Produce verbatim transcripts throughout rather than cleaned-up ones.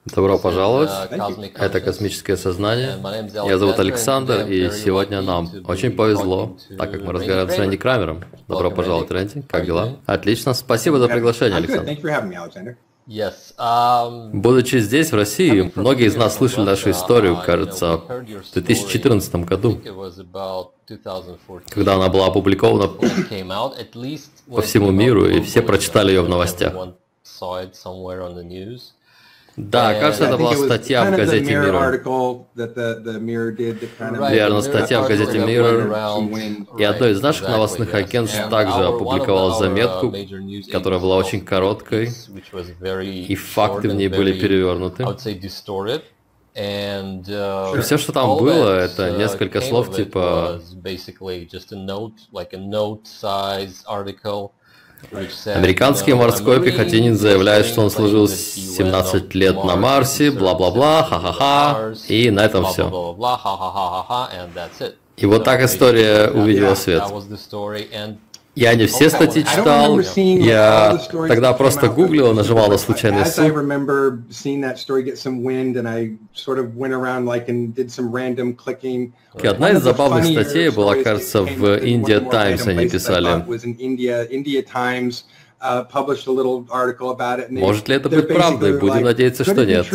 Добро пожаловать. Это «Космическое сознание». Я зовут Александр, и сегодня нам очень повезло, так как мы разговариваем с Рэнди Крамером. Добро пожаловать, Рэнди. Как дела? Отлично. Спасибо за приглашение, Александр. Будучи здесь, в России, многие из нас слышали нашу историю, кажется, в две тысячи четырнадцатом году, когда она была опубликована по всему миру, и все прочитали ее в новостях. Да, кажется, это была статья в газете Mirror. Верно, статья в газете Mirror. И одно из наших новостных агентств также опубликовало заметку, которая была очень короткой, и факты в ней были перевернуты. И все, что там было, это несколько слов типа «Американский морской пехотинец заявляет, что он служил семнадцать лет на Марсе, бла-бла-бла, ха-ха-ха», и на этом все. И вот так история увидела свет. Я не все статьи читал, я тогда просто гуглил, нажимал на случайный ссылки. И одна из забавных статей была, кажется, в India Times они писали. Может ли это быть правдой? Будем надеяться, что нет.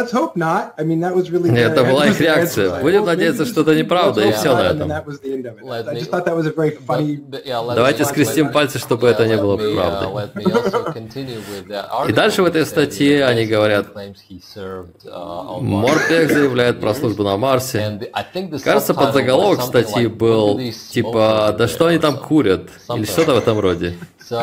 Это была их реакция. Будем надеяться, что это неправда, и все на этом. Давайте скрестим пальцы, чтобы это не было правдой. И дальше в этой статье они говорят, Морпех заявляет про службу на Марсе. Кажется, подзаголовок статьи был типа, да что они там курят? Или что-то в этом роде.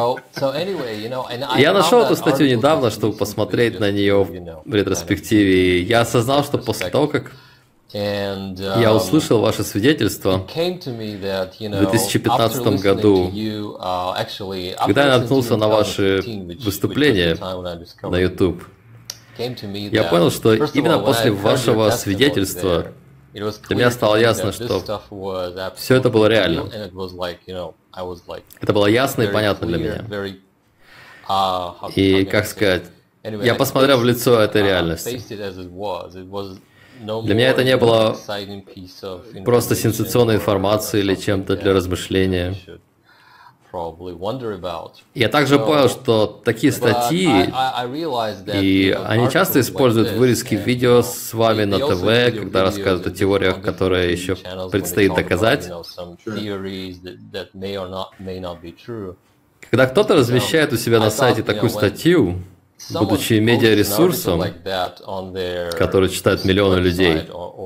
Я нашел эту статью недавно, чтобы посмотреть на нее в ретроспективе, и я осознал, что после того, как я услышал ваше свидетельство в две тысячи пятнадцатом году, когда я наткнулся на ваши выступления на YouTube, я понял, что именно после вашего свидетельства для меня стало ясно, что все это было реально. Это было ясно и понятно для меня. И, как сказать, я посмотрел в лицо этой реальности. Для меня это не было просто сенсационной информацией или чем-то для размышления. Я также понял, что такие статьи, и они часто используют вырезки видео с вами на ТВ, когда рассказывают о теориях, которые еще предстоит доказать. Когда кто-то размещает у себя на сайте такую статью, будучи медиаресурсом, который читают миллионы людей,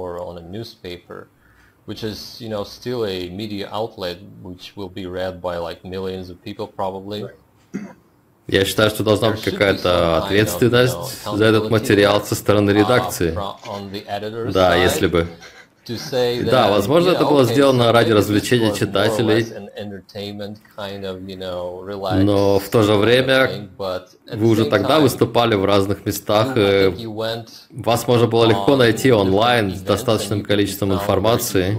which is, you know, still a media outlet which will be read by like millions of people probably. Я считаю, что должна быть какая-то ответственность за этот материал со стороны редакции. Да, если бы. Да, возможно, это было сделано ради развлечения читателей, но в то же время вы уже тогда выступали в разных местах, и вас можно было легко найти онлайн с достаточным количеством информации.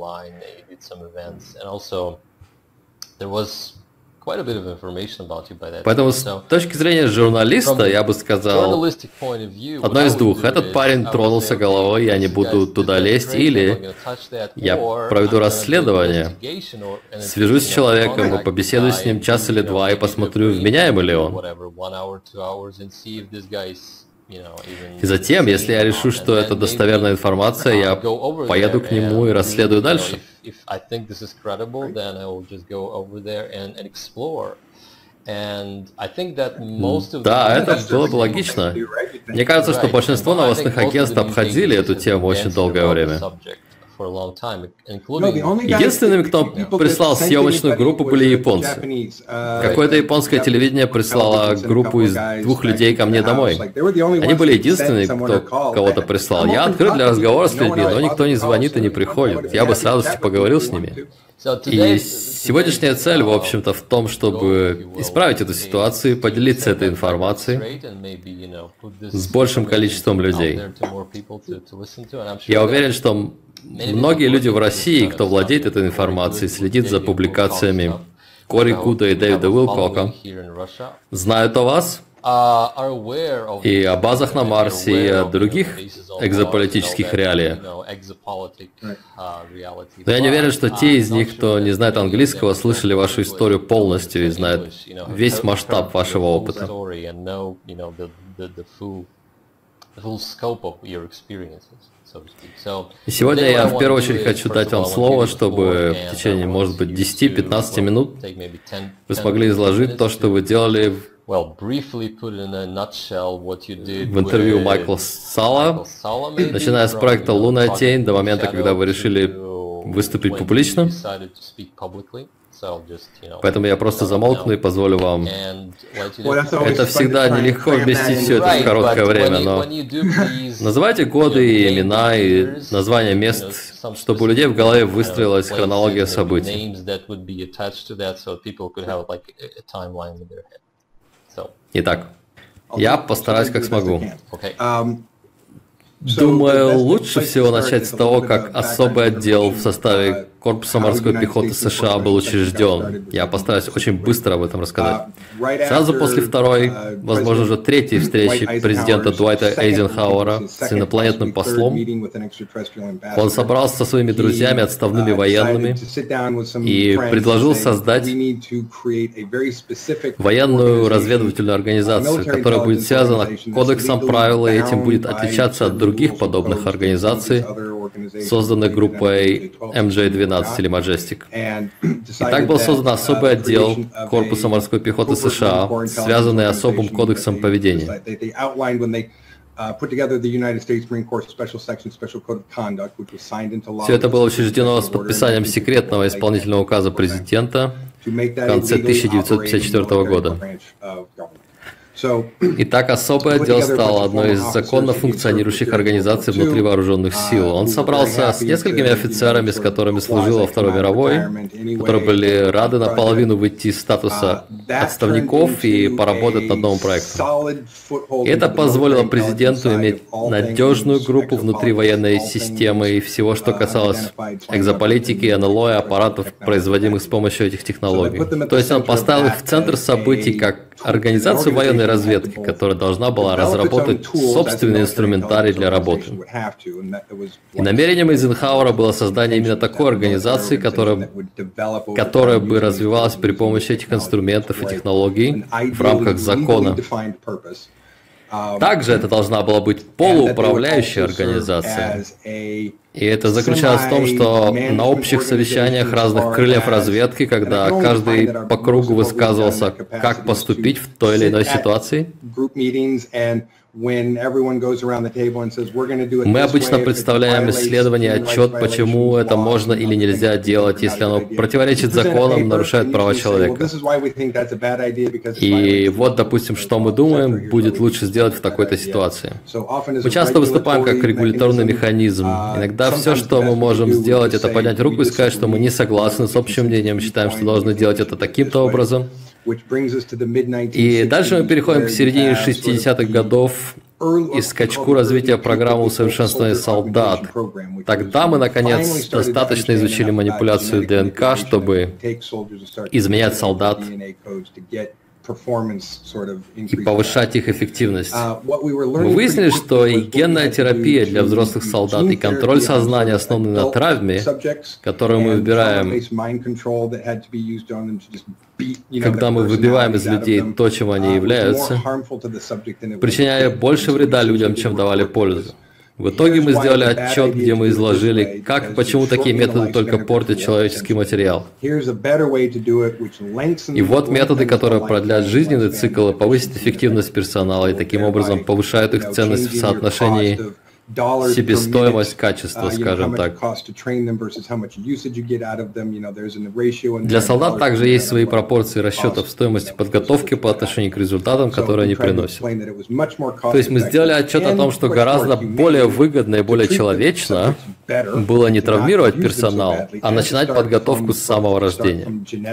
Поэтому с точки зрения журналиста, я бы сказал, одно из двух. Этот парень тронулся головой, я не буду туда лезть, или я проведу расследование, свяжусь с человеком и побеседую с ним час или два и посмотрю, вменяемый ли он. И затем, если я решу, что это достоверная информация, я поеду к нему и расследую дальше. Да, это было бы логично. Мне кажется, что большинство новостных агентств обходили эту тему очень долгое время. Единственными, кто прислал съемочную группу, были японцы. Какое-то японское телевидение прислало группу из двух людей ко мне домой. Они были единственные, кто кого-то прислал. Я открыт для разговора с людьми, но никто не звонит и не приходит. Я бы с радостью поговорил с ними. И сегодняшняя цель, в общем-то, в том, чтобы исправить эту ситуацию и поделиться этой информацией с большим количеством людей. Я уверен, что многие люди в России, кто владеет этой информацией, следит за публикациями Кори Гуда и Дэвида Уилкока, знают о вас и о базах на Марсе, и о других экзополитических реалиях. Но я не уверен, что те из них, кто не знает английского, слышали вашу историю полностью и знают весь масштаб вашего опыта. И сегодня я в первую очередь хочу дать вам слово, чтобы в течение, может быть, десяти-пятнадцати минут вы смогли изложить то, что вы делали в интервью Майкла Салла, начиная с проекта «Лунная тень» до момента, когда вы решили выступить публично. Поэтому я просто замолкну и позволю вам. Это всегда нелегко вместить все это в короткое время, но называйте годы и имена и названия мест, чтобы у людей в голове выстроилась хронология событий. Итак, я постараюсь как смогу. Думаю, лучше всего начать с того, как особый отдел в составе Корпуса морской пехоты США был учрежден. Я постараюсь очень быстро об этом рассказать. Сразу после второй, возможно, уже третьей встречи президента Дуайта Эйзенхауэра с инопланетным послом, он собрался со своими друзьями, отставными военными, и предложил создать военную разведывательную организацию, которая будет связана кодексом правил, и этим будет отличаться от других подобных организаций, созданных группой эм джей двенадцать или Majestic. И так был создан особый отдел Корпуса морской пехоты США, связанный особым кодексом поведения. Все это было учреждено с подписанием секретного исполнительного указа президента в конце тысяча девятьсот пятьдесят четвёртого года. Итак, особый отдел стал одной из законно функционирующих организаций внутри вооруженных сил. Он собрался с несколькими офицерами, с которыми служил во Второй мировой, которые были рады наполовину выйти из статуса отставников и поработать над новым проектом. И это позволило президенту иметь надежную группу внутри военной системы и всего, что касалось экзополитики, эн эл о и аппаратов, производимых с помощью этих технологий. То есть он поставил их в центр событий как организацию военной разведки, которая должна была разработать собственный инструментарий для работы. И намерением Эйзенхауэра было создание именно такой организации, которая, которая бы развивалась при помощи этих инструментов и технологий в рамках закона. Также это должна была быть полууправляющая организация. И это заключалось в том, что на общих совещаниях разных крыльев разведки, когда каждый по кругу высказывался, как поступить в той или иной ситуации, мы обычно представляем исследование, отчет, почему это можно или нельзя делать, если оно противоречит законам, нарушает права человека. И вот, допустим, что мы думаем, будет лучше сделать в такой-то ситуации. Мы часто выступаем как регуляторный механизм. Иногда все, что мы можем сделать, это поднять руку и сказать, что мы не согласны с общим мнением, считаем, что должны делать это таким-то образом. И дальше мы переходим к середине шестидесятых годов и скачку развития программы усовершенствования солдат. Тогда мы, наконец, достаточно изучили манипуляцию ДНК, чтобы изменять солдат и повышать их эффективность. Мы выяснили, что и генная терапия для взрослых солдат, и контроль сознания, основанный на травме, которую мы выбираем, когда мы выбиваем из людей то, чем они являются, причиняя больше вреда людям, чем давали пользу. В итоге мы сделали отчет, где мы изложили, как и почему такие методы только портят человеческий материал. И вот методы, которые продлят жизненный цикл и повысят эффективность персонала, и таким образом повышают их ценность в соотношении себестоимость качества, скажем так. Для солдат также есть свои пропорции расчетов стоимости подготовки по отношению к результатам, которые они приносят. То есть мы сделали отчет о том, что гораздо более выгодно и более человечно было не травмировать персонал, а начинать подготовку с самого рождения.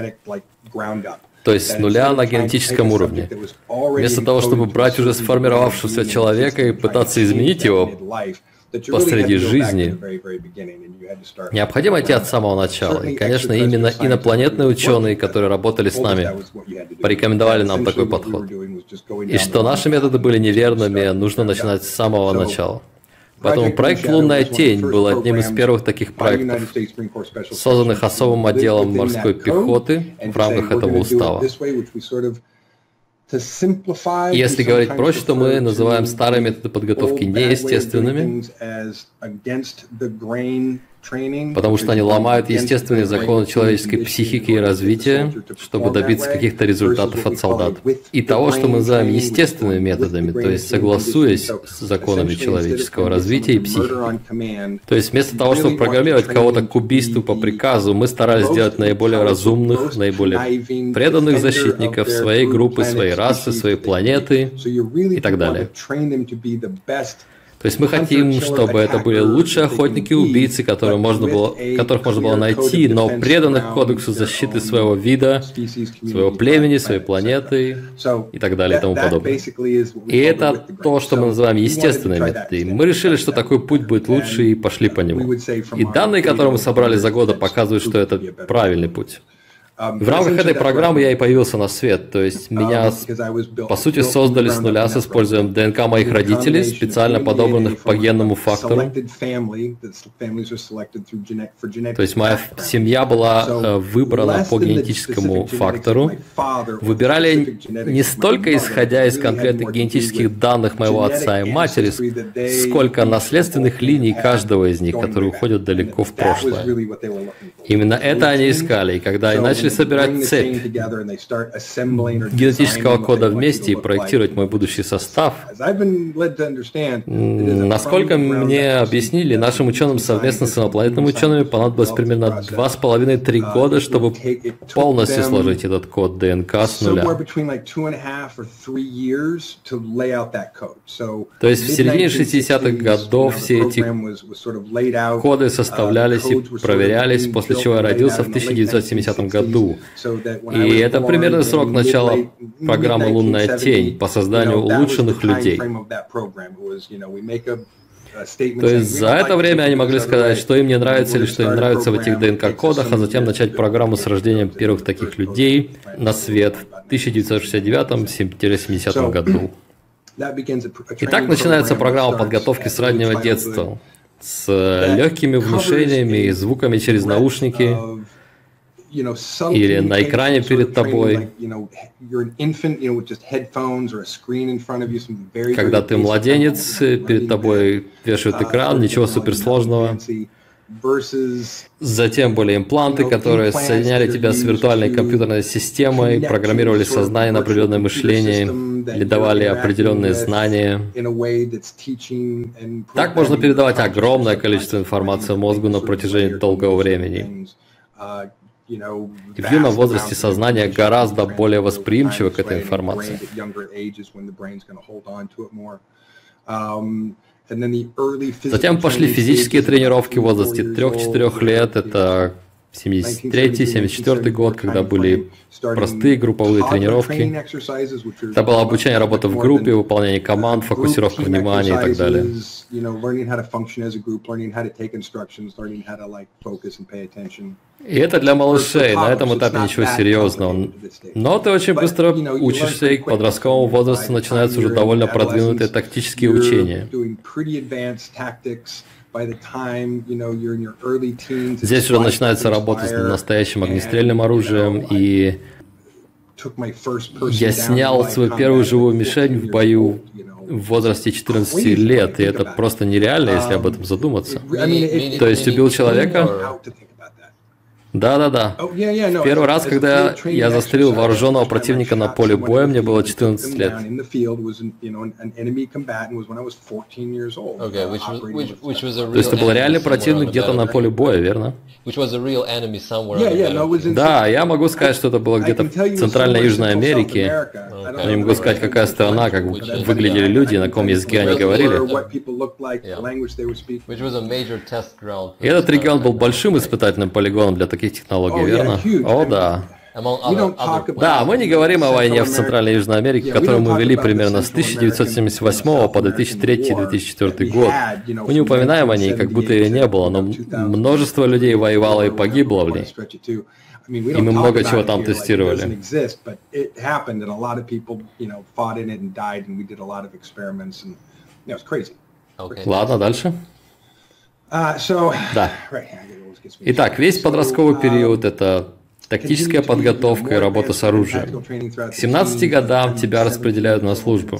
То есть с нуля на генетическом уровне. Вместо того, чтобы брать уже сформировавшегося человека и пытаться изменить его, посреди жизни, необходимо идти от самого начала. И, конечно, именно инопланетные ученые, которые работали с нами, порекомендовали нам такой подход. И что наши методы были неверными, нужно начинать с самого начала. Поэтому проект «Лунная тень» был одним из первых таких проектов, созданных особым отделом морской пехоты в рамках этого устава. Если говорить проще, то мы называем старые методы подготовки неестественными, потому что они ломают естественные законы человеческой психики и развития, чтобы добиться каких-то результатов от солдат. И того, что мы называем естественными методами, то есть согласуясь с законами человеческого развития и психики. То есть вместо того, чтобы программировать кого-то к убийству по приказу, мы старались сделать наиболее разумных, наиболее преданных защитников своей группы, своей расы, своей планеты и так далее. То есть мы хотим, чтобы это были лучшие охотники и убийцы, которые можно было, которых можно было найти, но преданных кодексу защиты своего вида, своего племени, своей планеты и так далее и тому подобное. И это то, что мы называем естественные методы. Мы решили, что такой путь будет лучше, и пошли по нему. И данные, которые мы собрали за годы, показывают, что это правильный путь. В рамках этой программы я и появился на свет, то есть меня, по сути, создали с нуля с использованием ДНК моих родителей, специально подобранных по генному фактору. То есть моя семья была выбрана по генетическому фактору. Выбирали не столько исходя из конкретных генетических данных моего отца и матери, сколько наследственных линий каждого из них, которые уходят далеко в прошлое. Именно это они искали, и когда они начали собирать цепь генетического кода вместе и проектировать мой будущий состав, насколько мне объяснили, нашим ученым совместно с инопланетными учеными понадобилось примерно два с половиной-три года, чтобы полностью сложить этот код ДНК с нуля. То есть в середине шестидесятых годов все эти коды составлялись и проверялись, после чего я родился в тысяча девятьсот семидесятом году. И это примерный срок начала программы «Лунная тень» по созданию улучшенных людей. То есть за это время они могли сказать, что им не нравится или что им нравится в этих ДНК-кодах, а затем начать программу с рождением первых таких людей на свет в тысяча девятьсот шестьдесят девятом — семидесятом году. И так начинается программа подготовки с раннего детства, с легкими внушениями и звуками через наушники, или на экране перед тобой, когда ты младенец, перед тобой вешают экран, ничего суперсложного. Затем были импланты, которые соединяли тебя с виртуальной компьютерной системой, программировали сознание на определенное мышление или давали определенные знания. Так можно передавать огромное количество информации мозгу на протяжении долгого времени. И в юном возрасте сознание гораздо более восприимчиво к этой информации. Затем пошли физические тренировки в возрасте трёх-четырёх лет. Это семьдесят третий — семьдесят четвёртый год, когда были простые групповые тренировки. Это было обучение работы в группе, выполнение команд, фокусировка внимания и так далее. И это для малышей, на этом этапе ничего серьезного. Но ты очень быстро учишься, и к подростковому возрасту начинаются уже довольно продвинутые тактические учения. Здесь уже начинается работа с настоящим огнестрельным оружием, и я снял свою первую живую мишень в бою в возрасте четырнадцати лет, и это просто нереально, если об этом задуматься. То есть убил человека? Да-да-да. В первый раз, когда я застрелил вооруженного противника на поле боя, мне было четырнадцать лет. То есть это был реальный противник где-то на поле боя, верно? Да, я могу сказать, что это было где-то в Центральной и Южной Америке. Я не могу сказать, какая страна, как выглядели люди, на каком языке они говорили. И этот регион был большим испытательным полигоном для таких технологий, верно? О, да. Да, мы не говорим о войне в Центральной и Южной Америке, которую мы вели примерно с тысяча девятьсот семьдесят восьмого по две тысячи третий — две тысячи четвёртый год. Мы не упоминаем о ней, как будто ее не было, но множество людей воевало и погибло в ней. И мы много чего там тестировали. Ладно, дальше. Да. Итак, весь подростковый период — это тактическая подготовка и работа с оружием. К семнадцати годам тебя распределяют на службу.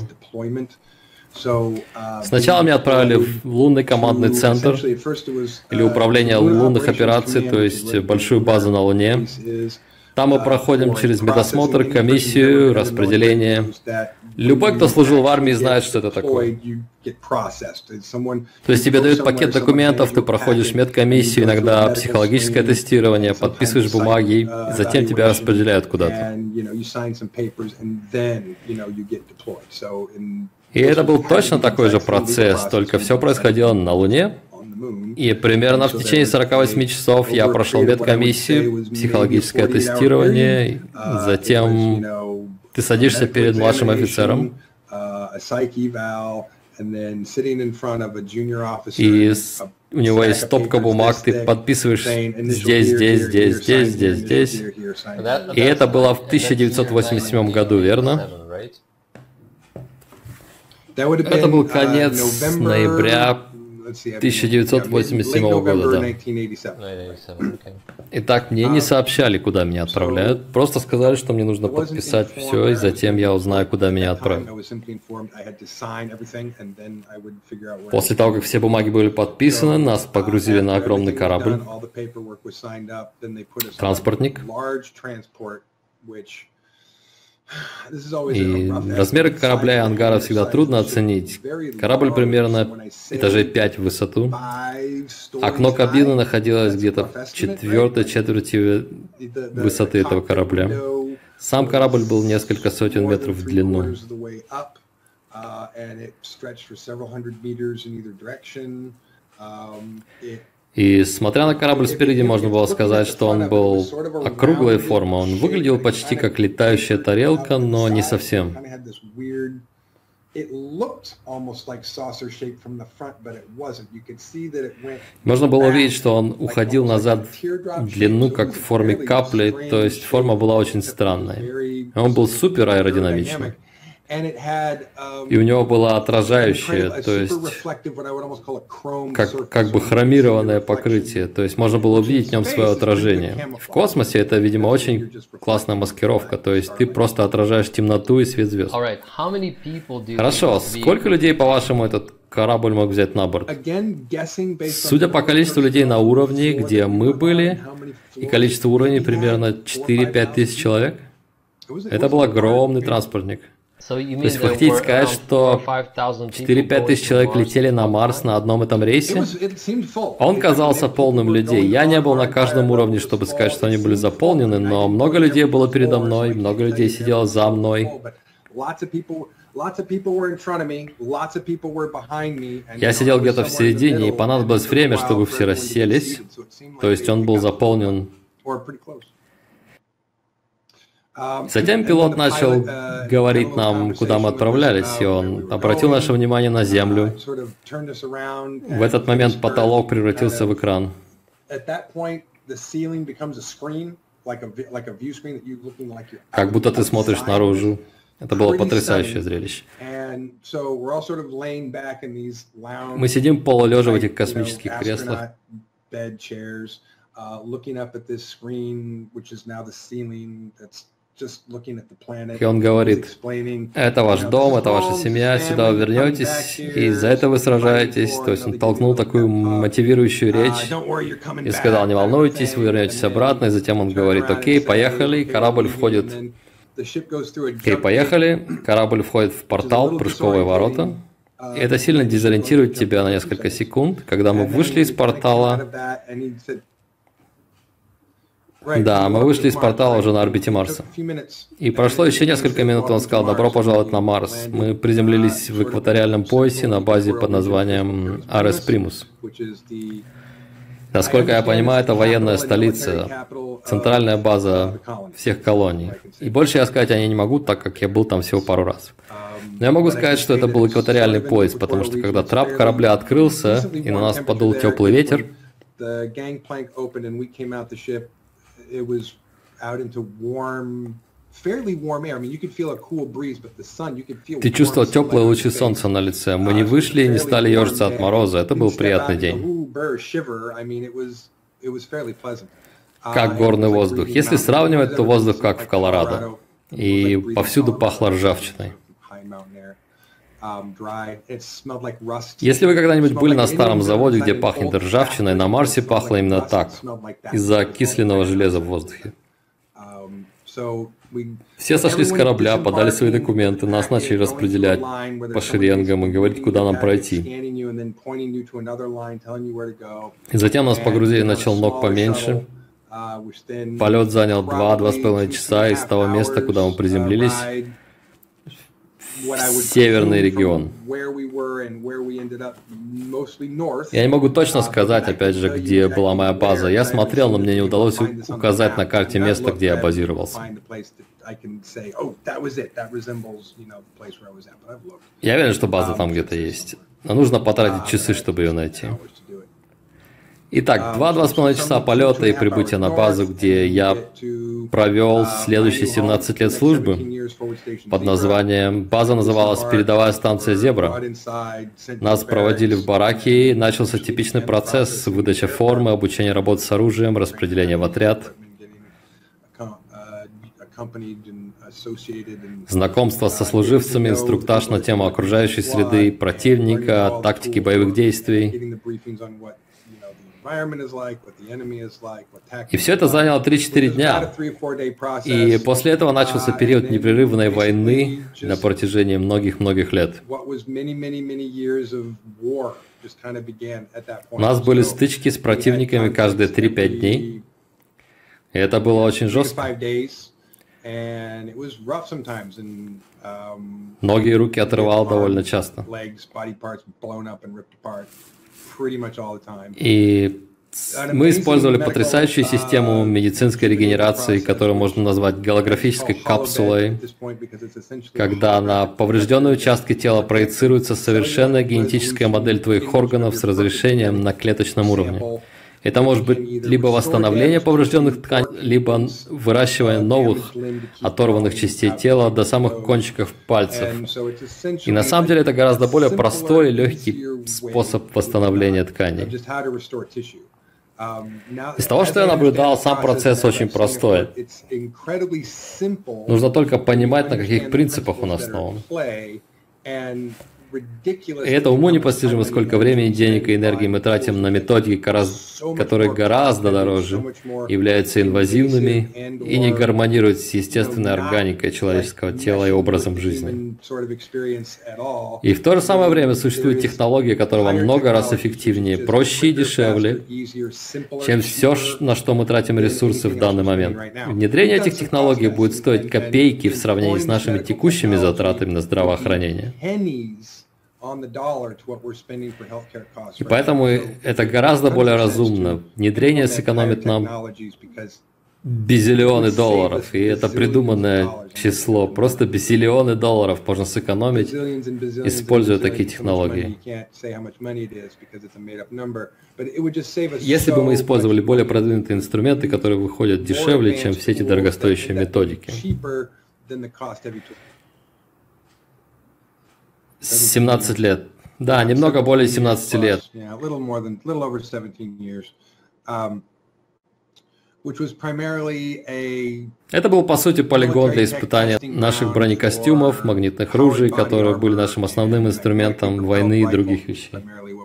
Сначала меня отправили в лунный командный центр или управление лунных операций, то есть большую базу на Луне. Там мы проходим через медосмотр, комиссию, распределение. Любой, кто служил в армии, знает, что это такое. То есть тебе дают пакет документов, ты проходишь медкомиссию, иногда психологическое тестирование, подписываешь бумаги, затем тебя распределяют куда-то. И это был точно такой же процесс, только все происходило на Луне. И примерно в течение сорока восьми часов я прошел медкомиссию, психологическое тестирование, затем ты садишься перед младшим офицером, и у него есть стопка бумаг, ты подписываешь здесь, здесь, здесь, здесь, здесь, здесь. И это было в тысяча девятьсот восемьдесят седьмом году, верно? Это был конец ноября тысяча девятьсот восемьдесят седьмого года, да. Итак, мне не сообщали, куда меня отправляют, просто сказали, что мне нужно подписать все, и затем я узнаю, куда меня отправят. После того, как все бумаги были подписаны, нас погрузили на огромный корабль, транспортник. И размеры корабля и ангара всегда трудно оценить. Корабль примерно этажей пять в высоту. Окно кабины находилось где-то в четвертой четверти высоты этого корабля. Сам корабль был несколько сотен метров в длину. И смотря на корабль спереди, можно было сказать, что он был округлой формы. Он выглядел почти как летающая тарелка, но не совсем. Можно было увидеть, что он уходил назад в длину, как в форме капли, то есть форма была очень странной. Он был супер аэродинамичный. И у него было отражающее, то есть как, как бы хромированное покрытие, то есть можно было увидеть в нем свое отражение. В космосе это, видимо, очень классная маскировка, то есть ты просто отражаешь темноту и свет звезд. Хорошо, сколько людей, по-вашему, этот корабль мог взять на борт? Судя по количеству людей на уровне, где мы были, и количество уровней примерно четыре-пять тысяч человек, это был огромный транспортник. То есть вы хотите сказать, что четыре-пять тысяч человек летели на Марс на одном этом рейсе? Он казался полным людей. Я не был на каждом уровне, чтобы сказать, что они были заполнены, но много людей было передо мной, много людей сидело за мной. Я сидел где-то в середине, и понадобилось время, чтобы все расселись. То есть он был заполнен. Затем пилот начал говорить нам, куда мы отправлялись, и он обратил наше внимание на Землю. В этот момент потолок превратился в экран. Как будто ты смотришь наружу. Это было потрясающее зрелище. Мы сидим полулежа в этих космических креслах. И он говорит: это ваш дом, это ваша семья, сюда вы вернетесь, и за это вы сражаетесь. То есть он толкнул такую мотивирующую речь и сказал: не волнуйтесь, вы вернетесь обратно. И затем он говорит: окей, поехали, корабль входит. Окей, поехали, корабль входит в портал, прыжковые ворота. И это сильно дезориентирует тебя на несколько секунд. Когда мы вышли из портала... Да, мы вышли из портала уже на орбите Марса. И прошло еще несколько минут, он сказал: добро пожаловать на Марс. Мы приземлились в экваториальном поясе на базе под названием Арес Примус. Насколько я понимаю, это военная столица, центральная база всех колоний. И больше я сказать о ней не могу, так как я был там всего пару раз. Но я могу сказать, что это был экваториальный пояс, потому что когда трап корабля открылся, и на нас подул теплый ветер, ты чувствовал теплые лучи солнца на лице. Мы не вышли и не стали ежиться от мороза. Это был приятный день. Как горный воздух. Если сравнивать, то воздух как в Колорадо. И повсюду пахло ржавчиной. Если вы когда-нибудь были на старом заводе, где пахнет ржавчиной, на Марсе пахло именно так, из-за окисленного железа в воздухе. Все сошли с корабля, подали свои документы, нас начали распределять по шеренгам и говорить, куда нам пройти. И затем нас погрузили на челнок поменьше. Полет занял два-два с половиной часа из того места, куда мы приземлились, в северный регион. Я не могу точно сказать, опять же, где была моя база. Я смотрел, но мне не удалось указать на карте место, где я базировался. Я уверен, что база там где-то есть. Но нужно потратить часы, чтобы ее найти. Итак, два-два с половиной часа полета и прибытия на базу, где я провел следующие семнадцать лет службы под названием... База называлась «Передовая станция Зебра». Нас проводили в бараки, и начался типичный процесс: выдача формы, обучение работы с оружием, распределение в отряд, знакомство со служивцами, инструктаж на тему окружающей среды, противника, тактики боевых действий. И все это заняло три-четыре дня. И после этого начался период непрерывной войны на протяжении многих-многих лет. У нас были стычки с противниками каждые три-пять дней. И это было очень жестко. Ноги и руки отрывало довольно часто. И мы использовали потрясающую систему медицинской регенерации, которую можно назвать голографической капсулой, когда на поврежденные участки тела проецируется совершенная генетическая модель твоих органов с разрешением на клеточном уровне. Это может быть либо восстановление поврежденных тканей, либо выращивание новых оторванных частей тела до самых кончиков пальцев. И на самом деле это гораздо более простой и легкий способ восстановления тканей. Из того, что я наблюдал, сам процесс очень простой. Нужно только понимать, на каких принципах он основан. И это уму непостижимо, сколько времени, денег и энергии мы тратим на методики, которые гораздо дороже, являются инвазивными и не гармонируют с естественной органикой человеческого тела и образом жизни. И в то же самое время существуют технологии, которые во много раз эффективнее, проще и дешевле, чем все, на что мы тратим ресурсы в данный момент. Внедрение этих технологий будет стоить копейки в сравнении с нашими текущими затратами на здравоохранение. И поэтому это гораздо более разумно. Внедрение сэкономит нам бизиллионы долларов, и это придуманное число. Просто бизиллионы долларов можно сэкономить, используя такие технологии. Если бы мы использовали более продвинутые инструменты, которые выходят дешевле, чем все эти дорогостоящие методики. семнадцать лет. Да, немного более семнадцати лет. Это был, по сути, полигон для испытания наших бронекостюмов, магнитных ружей, которые были нашим основным инструментом войны и других вещей.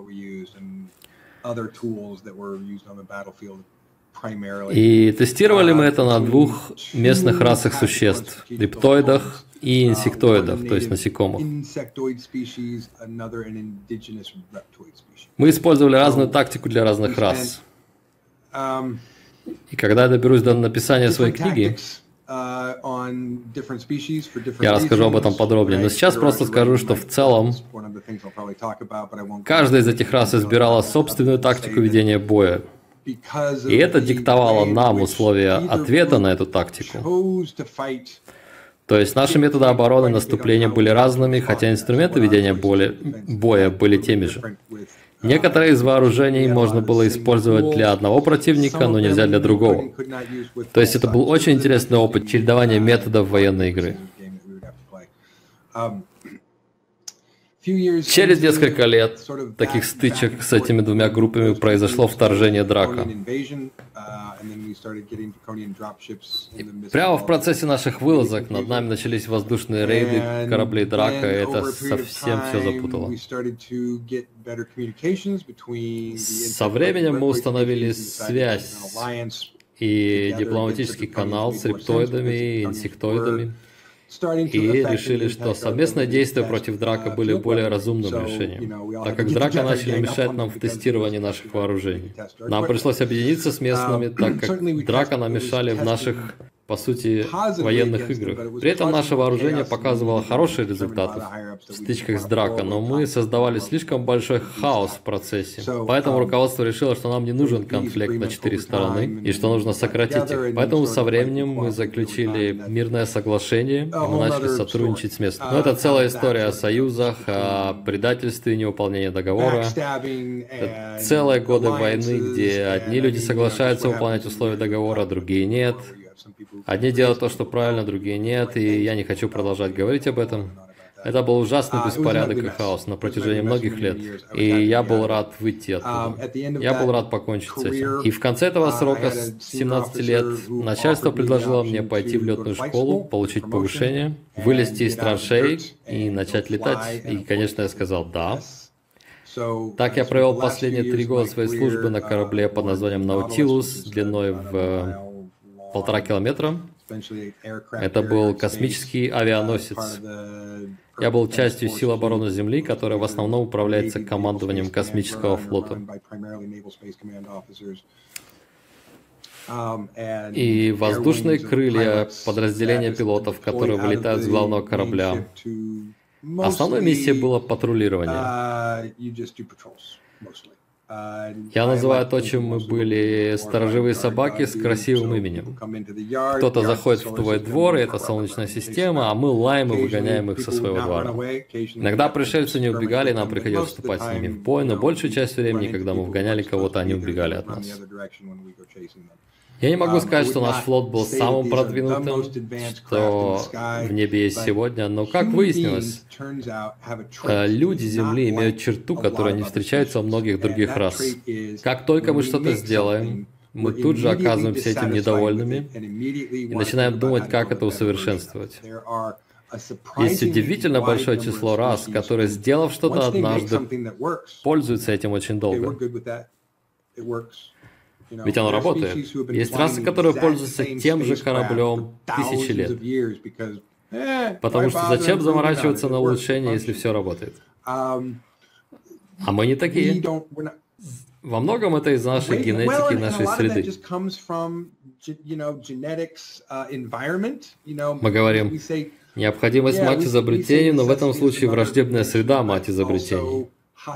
И тестировали мы это на двух местных расах существ – рептоидах и инсектоидов, то есть насекомых. Мы использовали разную тактику для разных рас. И когда я доберусь до написания своей книги, я расскажу об этом подробнее. Но сейчас просто скажу, что в целом каждая из этих рас избирала собственную тактику ведения боя. И это диктовало нам условия ответа на эту тактику. То есть наши методы обороны и наступления были разными, хотя инструменты ведения боя были теми же. Некоторые из вооружений можно было использовать для одного противника, но нельзя для другого. То есть это был очень интересный опыт чередования методов военной игры. Через несколько лет таких стычек с этими двумя группами произошло вторжение Драка. И прямо в процессе наших вылазок над нами начались воздушные рейды кораблей Драка, и это совсем все запутало. Со временем мы установили связь и дипломатический канал с рептоидами и инсектоидами. И решили, что совместные действия против Драка были более разумным решением, так как Драка начали мешать нам в тестировании наших вооружений. Нам пришлось объединиться с местными, так как Драка нам мешали в наших, по сути, военных играх. При этом наше вооружение показывало хорошие результаты в стычках с Драка, но мы создавали слишком большой хаос в процессе. Поэтому руководство решило, что нам не нужен конфликт на четыре стороны, и что нужно сократить их. Поэтому со временем мы заключили мирное соглашение, и мы начали сотрудничать с местными. Но это целая история о союзах, о предательстве и невыполнении договора. Это целые годы войны, где одни люди соглашаются выполнять условия договора, другие нет. Одни делают то, что правильно, другие нет, и я не хочу продолжать говорить об этом. Это был ужасный беспорядок и хаос на протяжении многих лет, и я был рад выйти оттуда. Я был рад покончить с этим. И в конце этого срока, семнадцати лет, начальство предложило мне пойти в летную школу, получить повышение, вылезти из траншей и начать летать. И, конечно, я сказал «да». Так я провел последние три года своей службы на корабле под названием «Наутилус» длиной в полтора километра. Это был космический авианосец. Я был частью сил обороны Земли, которая в основном управляется командованием космического флота. И воздушные крылья, подразделения пилотов, которые вылетают с главного корабля. Основной миссией было патрулирование. Я называю то, чем мы были, сторожевые собаки с красивым именем. Кто-то заходит в твой двор, и это Солнечная система, а мы лаем и выгоняем их со своего двора. Иногда пришельцы не убегали, и нам приходилось вступать с ними в бой, но большую часть времени, когда мы вгоняли кого-то, они убегали от нас. Я не могу сказать, что наш флот был самым продвинутым, что в небе есть сегодня, но, как выяснилось, люди Земли имеют черту, которая не встречается у многих других рас. Как только мы что-то сделаем, мы тут же оказываемся этим недовольными и начинаем думать, как это усовершенствовать. Есть удивительно большое число рас, которые, сделав что-то однажды, пользуются этим очень долго. Ведь оно работает. Есть расы, которые пользуются тем же кораблем тысячи лет. Потому что зачем заморачиваться на улучшение, если все работает? А мы не такие. Во многом это из нашей генетики, нашей среды. Мы говорим, необходимость мать изобретений, но в этом случае враждебная среда мать изобретений.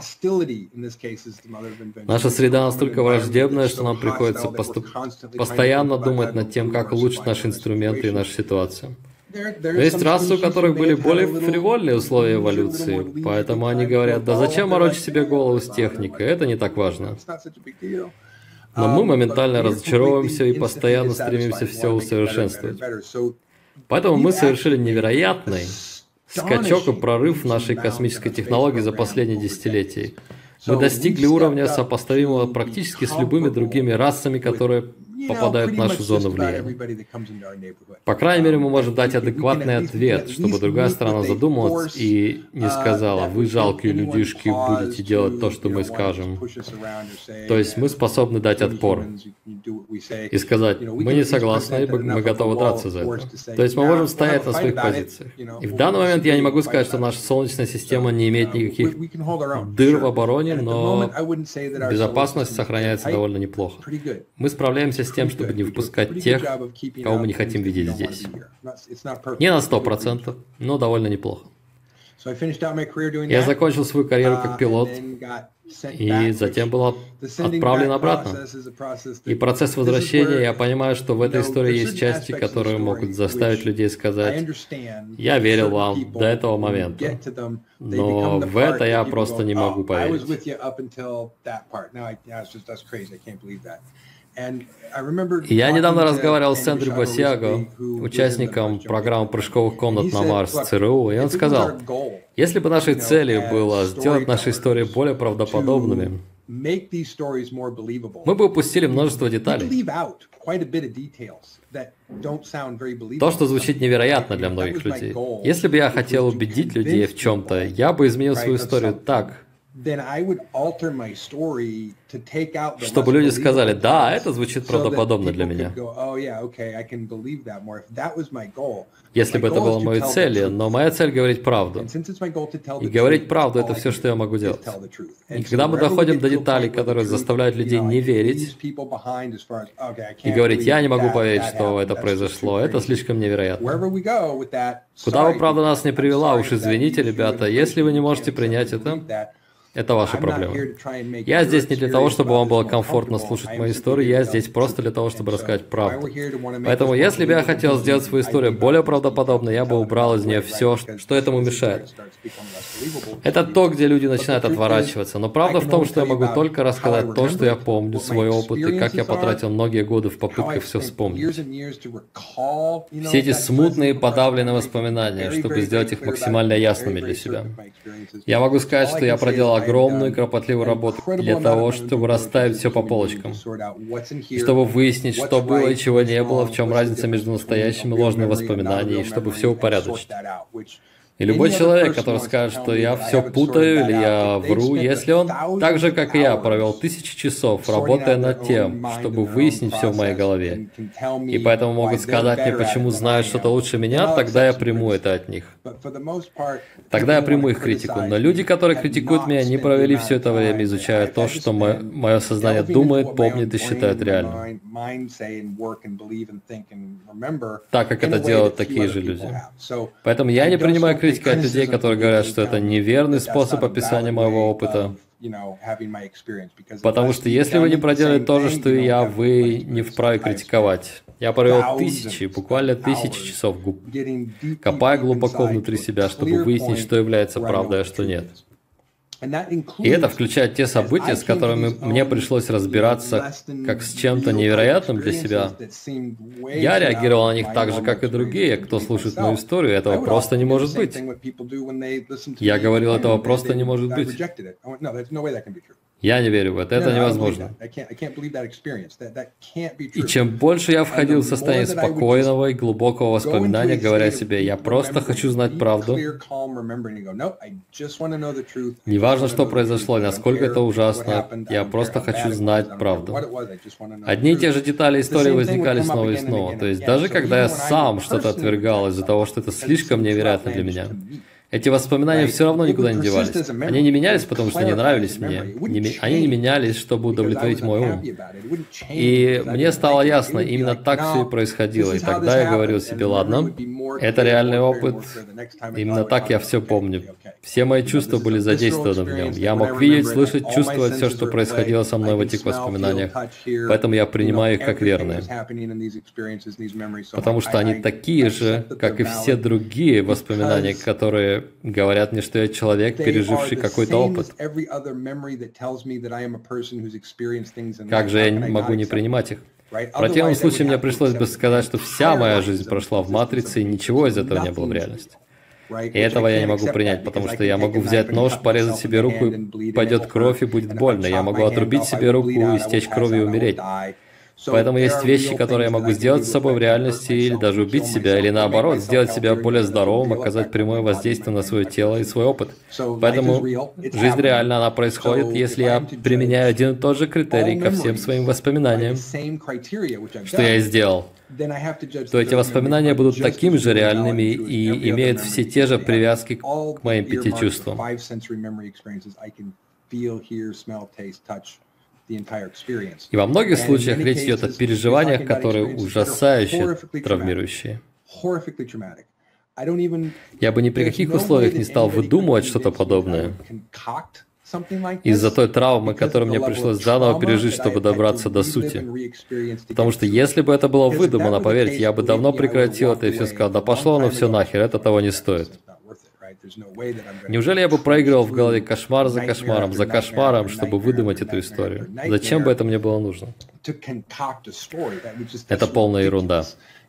Наша среда настолько враждебная, что нам приходится поступ... постоянно думать над тем, как улучшить наши инструменты и нашу ситуацию. Но есть расы, у которых были более фривольные условия эволюции, поэтому они говорят, да зачем морочить себе голову с техникой, это не так важно. Но мы моментально разочаровываемся и постоянно стремимся все усовершенствовать. Поэтому мы совершили невероятный скачок и прорыв нашей космической технологии за последние десятилетия. Мы достигли уровня, сопоставимого практически с любыми другими расами, которые попадают в нашу зону влияния. По крайней мере, мы можем дать адекватный ответ, чтобы другая сторона задумалась и не сказала, вы жалкие людишки, будете делать то, что мы скажем. То есть мы способны дать отпор и сказать, мы не согласны, мы готовы драться за это. То есть мы можем стоять на своих позициях. И в данный момент я не могу сказать, что наша Солнечная система не имеет никаких дыр в обороне, но безопасность сохраняется довольно неплохо. Мы справляемся с тем, чтобы не выпускать тех, кого мы не хотим видеть здесь. Не на сто процентов, но довольно неплохо. Я закончил свою карьеру как пилот, и затем был отправлен обратно. И процесс возвращения, я понимаю, что в этой истории есть части, которые могут заставить людей сказать: «Я верил вам до этого момента, но в это я просто не могу поверить». И я недавно разговаривал с Эндрю Басиаго, участником программы прыжковых комнат на Марс ЦРУ, и он сказал: если бы нашей целью было сделать наши истории более правдоподобными, мы бы упустили множество деталей. То, что звучит невероятно для многих людей. Если бы я хотел убедить людей в чем-то, я бы изменил свою историю так, чтобы люди сказали: да, это звучит правдоподобно для меня. Если бы это была моей целью, но моя цель — говорить правду. И говорить правду — это все, что я могу делать. И когда мы доходим до деталей, которые заставляют людей не верить, и говорить: я не могу поверить, что это произошло, это слишком невероятно. Куда бы правда нас не привела, уж извините, ребята, если вы не можете принять это, это ваша проблема. Я здесь не для того, чтобы вам было комфортно слушать мою историю, я здесь просто для того, чтобы рассказать правду. Поэтому, если бы я хотел сделать свою историю более правдоподобной, я бы убрал из нее все, что этому мешает. Это то, где люди начинают отворачиваться. Но правда в том, что я могу только рассказать то, что я помню, свой опыт, и как я потратил многие годы в попытках все вспомнить. Все эти смутные, подавленные воспоминания, чтобы сделать их максимально ясными для себя. Я могу сказать, что я проделал огромную и кропотливую работу для того, чтобы расставить все по полочкам. И чтобы выяснить, что было и чего не было, в чем разница между настоящими и ложными воспоминаниями, и чтобы все упорядочить. И любой человек, который скажет, что я все путаю или я вру, если он, так же как и я, провел тысячи часов, работая над тем, чтобы выяснить все в моей голове, и поэтому могут сказать мне, почему знают что-то лучше меня, тогда я приму это от них. Тогда я приму их критику. Но люди, которые критикуют меня, не провели все это время, изучая то, что мое, мое сознание думает, помнит и считает реальным. Так, как это делают такие же люди. Поэтому я не принимаю критику от людей, которые говорят, что это неверный способ описания моего опыта. Потому что если вы не проделали то же, что и я, вы не вправе критиковать. Я провел тысячи, буквально тысячи часов, копая глубоко внутри себя, чтобы выяснить, что является правдой, а что нет. И это включает те события, с которыми мне пришлось разбираться как с чем-то невероятным для себя. Я реагировал на них так же, как и другие, кто слушает мою историю. Этого просто не может быть. Я говорил, этого просто не может быть. Я не верю в это, это невозможно. И чем больше я входил в состояние спокойного и глубокого воспоминания, говоря себе: я просто хочу знать правду. Неважно, что произошло, насколько это ужасно, я просто хочу знать правду. Одни и те же детали истории возникали снова и снова. То есть даже когда я сам что-то отвергал из-за того, что это слишком невероятно для меня, эти воспоминания все равно никуда не девались. Они не менялись, потому что не нравились мне. Не, они не менялись, чтобы удовлетворить мой ум. И мне стало ясно, именно так все и происходило. И тогда я говорил себе: ладно, это реальный опыт. Именно так я все помню. Все мои чувства были задействованы в нем. Я мог видеть, слышать, чувствовать все, что происходило со мной в этих воспоминаниях. Поэтому я принимаю их как верные. Потому что они такие же, как и все другие воспоминания, которые говорят мне, что я человек, переживший какой-то опыт. Как же я могу не принимать их? В противном случае мне пришлось бы сказать, что вся моя жизнь прошла в матрице, и ничего из этого не было в реальности. И этого я не могу принять, потому что я могу взять нож, порезать себе руку, и пойдет кровь, и будет больно. Я могу отрубить себе руку, истечь кровью и умереть. Поэтому есть вещи, которые я могу сделать с собой в реальности, или даже убить себя, или наоборот, сделать себя более здоровым, оказать прямое воздействие на свое тело и свой опыт. Поэтому жизнь реальна, она происходит, если я применяю один и тот же критерий ко всем своим воспоминаниям, что я и сделал, то эти воспоминания будут такими же реальными и имеют все те же привязки к моим пяти чувствам. И во многих случаях речь идет о переживаниях, которые ужасающе травмирующие. Я бы ни при каких условиях не стал выдумывать что-то подобное. Из-за той травмы, которую мне пришлось заново пережить, чтобы добраться до сути. Потому что если бы это было выдумано, поверьте, я бы давно прекратил это и все сказал, да пошло оно все нахер, это того не стоит. Неужели я бы проигрывал в голове кошмар за кошмаром, за кошмаром, чтобы выдумать эту историю? Зачем бы это мне было нужно? Это полная ерунда.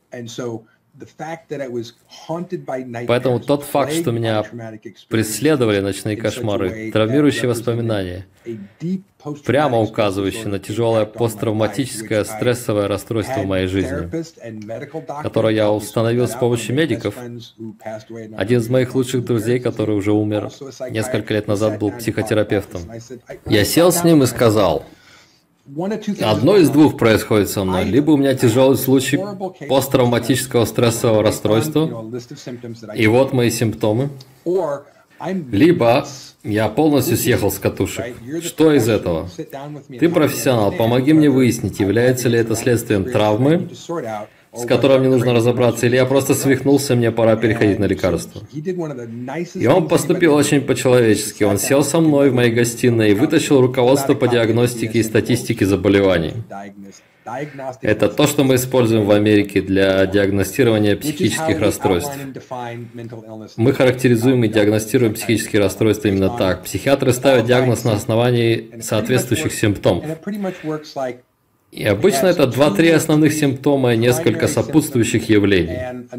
Поэтому тот факт, что меня преследовали ночные кошмары, травмирующие воспоминания, прямо указывающие на тяжелое посттравматическое стрессовое расстройство в моей жизни, которое я установил с помощью медиков. Один из моих лучших друзей, который уже умер несколько лет назад, был психотерапевтом. Я сел с ним и сказал: одно из двух происходит со мной. Либо у меня тяжелый случай посттравматического стрессового расстройства, и вот мои симптомы. Либо я полностью съехал с катушек. Что из этого? Ты профессионал, помоги мне выяснить, является ли это следствием травмы, с которой мне нужно разобраться, или я просто свихнулся, мне пора переходить на лекарства. И он поступил очень по-человечески. Он сел со мной в моей гостиной и вытащил руководство по диагностике и статистике заболеваний. Это то, что мы используем в Америке для диагностирования психических расстройств. Мы характеризуем и диагностируем психические расстройства именно так. Психиатры ставят диагноз на основании соответствующих симптомов. И обычно это два-три основных симптома и несколько сопутствующих явлений.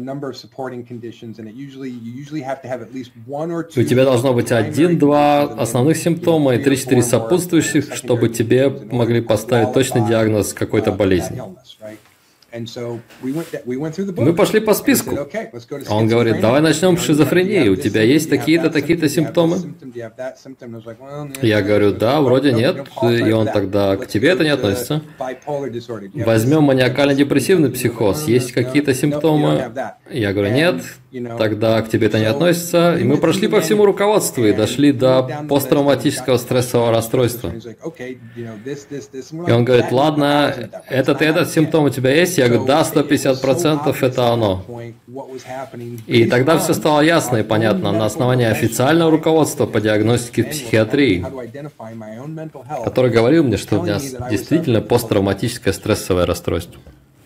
У тебя должно быть один-два основных симптома и три-четыре сопутствующих, чтобы тебе могли поставить точный диагноз какой-то болезни. Мы пошли по списку. Он говорит: давай начнем с шизофрении. У тебя есть такие-то, такие-то симптомы? Я говорю: да, вроде нет. И он тогда: к тебе это не относится. Возьмем маниакально-депрессивный психоз. Есть какие-то симптомы? Я говорю: нет. Тогда к тебе это не относится. И мы прошли по всему руководству и дошли до посттравматического стрессового расстройства. И он говорит: ладно, этот и этот симптом у тебя есть? Я говорю: да, сто пятьдесят процентов это оно. И тогда все стало ясно и понятно на основании официального руководства по диагностике в психиатрии, который говорил мне, что у меня действительно посттравматическое стрессовое расстройство.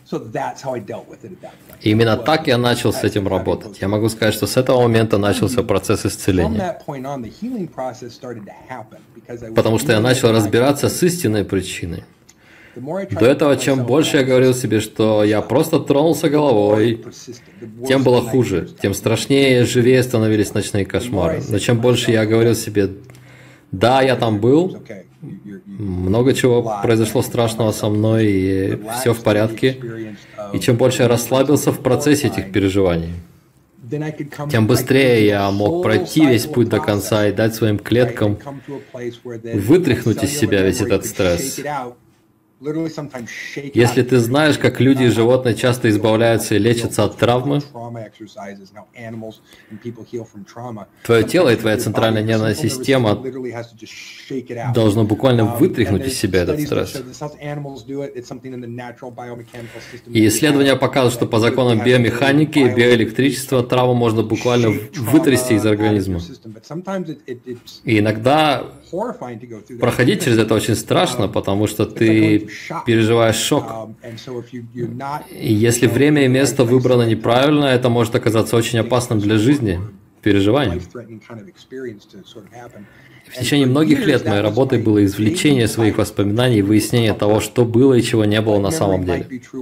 И именно так я начал с этим работать. Я могу сказать, что с этого момента начался процесс исцеления. Потому что я начал разбираться с истинной причиной. До этого, чем больше я говорил себе, что я просто тронулся головой, тем было хуже, тем страшнее и живее становились ночные кошмары. Но чем больше я говорил себе: да, я там был, много чего произошло страшного со мной, и все в порядке. И чем больше я расслабился в процессе этих переживаний, тем быстрее я мог пройти весь путь до конца и дать своим клеткам вытряхнуть из себя весь этот стресс. Если ты знаешь, как люди и животные часто избавляются и лечатся от травмы, твое тело и твоя центральная нервная система должно буквально вытряхнуть из себя этот стресс. И исследования показывают, что по законам биомеханики и биоэлектричества травму можно буквально вытрясти из организма. И иногда проходить через это очень страшно, потому что ты переживаешь шок. И если время и место выбрано неправильно, это может оказаться очень опасным для жизни, переживанием. В течение многих лет моей работой было извлечение своих воспоминаний и выяснение того, что было и чего не было на самом деле.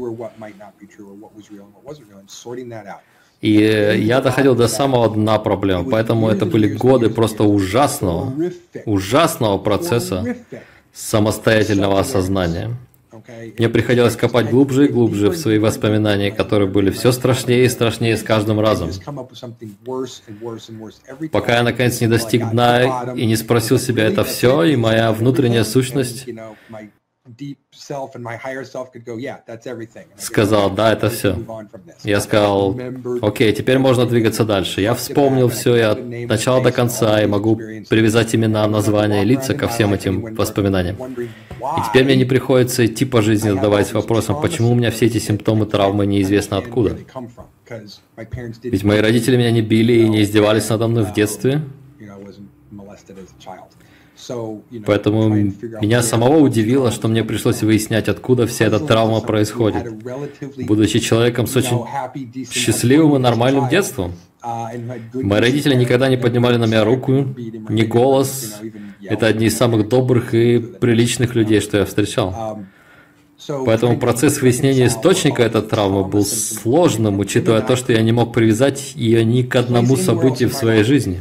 И я доходил до самого дна проблем, поэтому это были годы просто ужасного, ужасного процесса самостоятельного осознания. Мне приходилось копать глубже и глубже в свои воспоминания, которые были все страшнее и страшнее с каждым разом. Пока я наконец не достиг дна и не спросил себя: это все, и моя внутренняя сущность сказал, да, это все. Я сказал, окей, теперь можно двигаться дальше. Я вспомнил все, я от начала до конца, и могу привязать имена, названия, лица ко всем этим воспоминаниям. И теперь мне не приходится идти по жизни, задаваясь вопросом, почему у меня все эти симптомы травмы неизвестно откуда. Ведь мои родители меня не били и не издевались надо мной в детстве. Поэтому меня самого удивило, что мне пришлось выяснять, откуда вся эта травма происходит, будучи человеком с очень счастливым и нормальным детством. Мои родители никогда не поднимали на меня руку, ни голос. Это одни из самых добрых и приличных людей, что я встречал. Поэтому процесс выяснения источника этой травмы был сложным, учитывая то, что я не мог привязать ее ни к одному событию в своей жизни.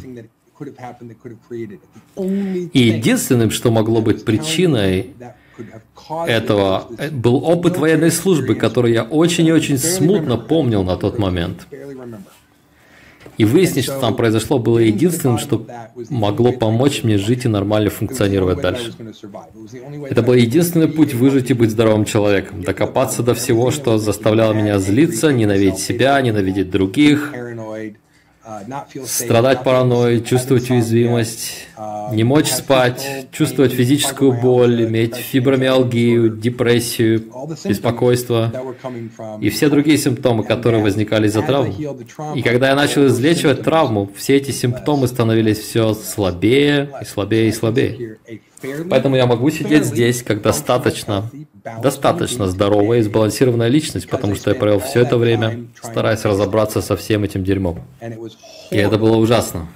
И единственным, что могло быть причиной этого, был опыт военной службы, который я очень и очень смутно помнил на тот момент. И выяснить, что там произошло, было единственным, что могло помочь мне жить и нормально функционировать дальше. Это был единственный путь выжить и быть здоровым человеком, докопаться до всего, что заставляло меня злиться, ненавидеть себя, ненавидеть других, страдать паранойей, чувствовать уязвимость, не мочь спать, чувствовать физическую боль, иметь фибромиалгию, депрессию, беспокойство и все другие симптомы, которые возникали из-за травмы. И когда я начал излечивать травму, все эти симптомы становились все слабее и слабее и слабее. Поэтому я могу сидеть здесь как достаточно, достаточно здоровая и сбалансированная личность, потому что я провел все это время, стараясь разобраться со всем этим дерьмом. И это было ужасно.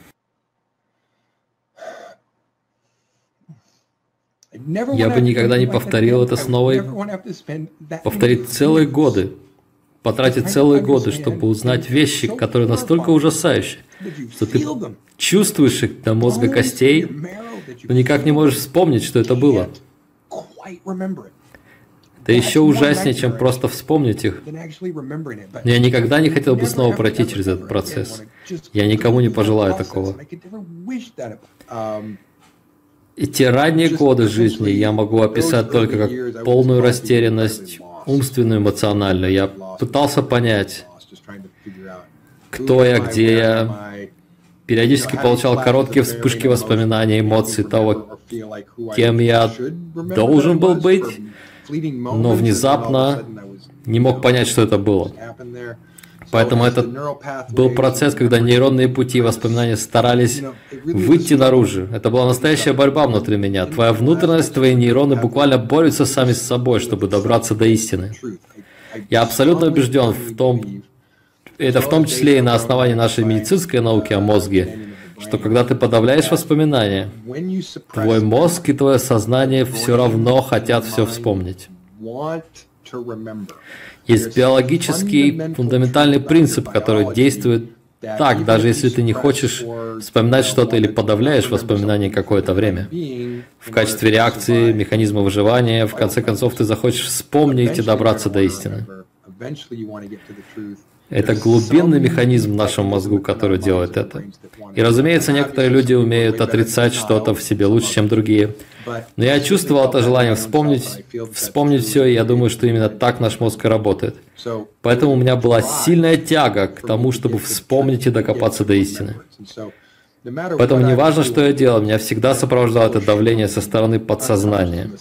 Я бы никогда не повторил это снова и повторить целые годы, потратить целые годы, чтобы узнать вещи, которые настолько ужасающие, что ты чувствуешь их до мозга костей, но никак не можешь вспомнить, что это было. Это еще ужаснее, чем просто вспомнить их. Но я никогда не хотел бы снова пройти через этот процесс. Я никому не пожелаю такого. И те ранние годы жизни я могу описать только как полную растерянность, умственную, эмоциональную. Я пытался понять, кто я, где я. Периодически получал короткие вспышки воспоминаний, эмоций того, кем я должен был быть, но внезапно не мог понять, что это было. Поэтому это был процесс, когда нейронные пути и воспоминания старались выйти наружу. Это была настоящая борьба внутри меня. Твоя внутренность, твои нейроны буквально борются сами с собой, чтобы добраться до истины. Я абсолютно убежден в том, это в том числе и на основании нашей медицинской науки о мозге, что когда ты подавляешь воспоминания, твой мозг и твое сознание все равно хотят все вспомнить. Есть биологический фундаментальный принцип, который действует так, даже если ты не хочешь вспоминать что-то или подавляешь воспоминания какое-то время. В качестве реакции, механизма выживания, в конце концов, ты захочешь вспомнить и добраться до истины. Это глубинный механизм в нашем мозгу, который делает это. И, разумеется, некоторые люди умеют отрицать что-то в себе лучше, чем другие. Но я чувствовал это желание вспомнить, вспомнить все, и я думаю, что именно так наш мозг и работает. Поэтому у меня была сильная тяга к тому, чтобы вспомнить и докопаться до истины. Поэтому не важно, что я делал, меня всегда сопровождало это давление со стороны подсознания,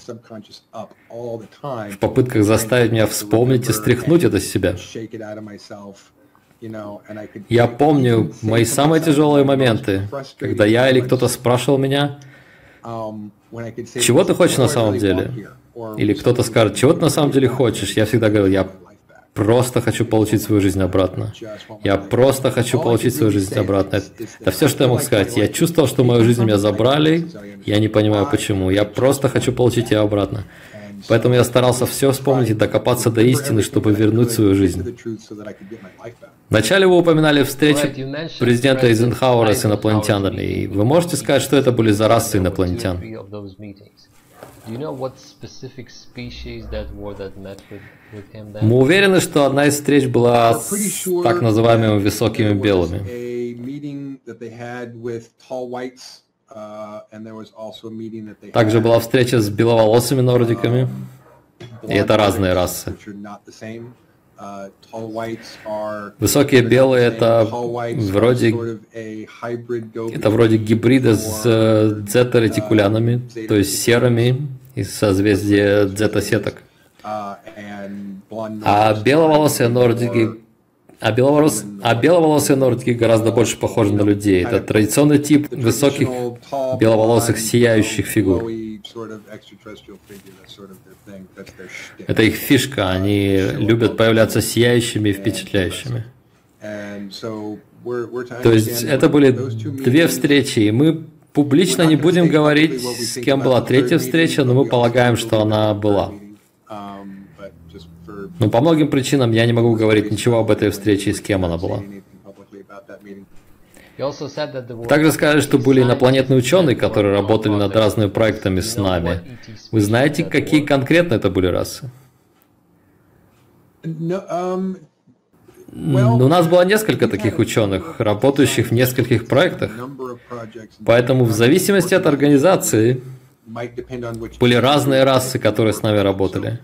в попытках заставить меня вспомнить и стряхнуть это с себя. Я помню мои самые тяжелые моменты, когда я или кто-то спрашивал меня, чего ты хочешь на самом деле? Или кто-то скажет, чего ты на самом деле хочешь? Я всегда говорил, я просто хочу получить свою жизнь обратно. Я просто хочу получить свою жизнь обратно. Это все, что я мог сказать. Я чувствовал, что мою жизнь меня забрали. Я не понимаю, почему. Я просто хочу получить ее обратно. Поэтому я старался все вспомнить и докопаться до истины, чтобы вернуть свою жизнь. Вначале вы упоминали встречу президента Эйзенхауэра с инопланетянами. И вы можете сказать, что это были за расы инопланетян? Мы уверены, что одна из встреч была с так называемыми высокими белыми. Также была встреча с беловолосыми нордиками. И это разные расы. Высокие белые это вроде, это вроде гибрида с дзета-ретикулянами, то есть серыми из созвездия дзета-сеток. А беловолосые нордики, а, беловолос, а беловолосые нордики гораздо больше похожи на людей. Это традиционный тип высоких беловолосых сияющих фигур. Это их фишка, они любят появляться сияющими и впечатляющими. То есть это были две встречи, и мы публично не будем говорить, с кем была третья встреча, но мы полагаем, что она была. Но по многим причинам я не могу говорить ничего об этой встрече и с кем она была. Также сказали, что были инопланетные ученые, которые работали над разными проектами с нами. Вы знаете, какие конкретно это были расы? У нас было несколько таких ученых, работающих в нескольких проектах. Поэтому в зависимости от организации были разные расы, которые с нами работали.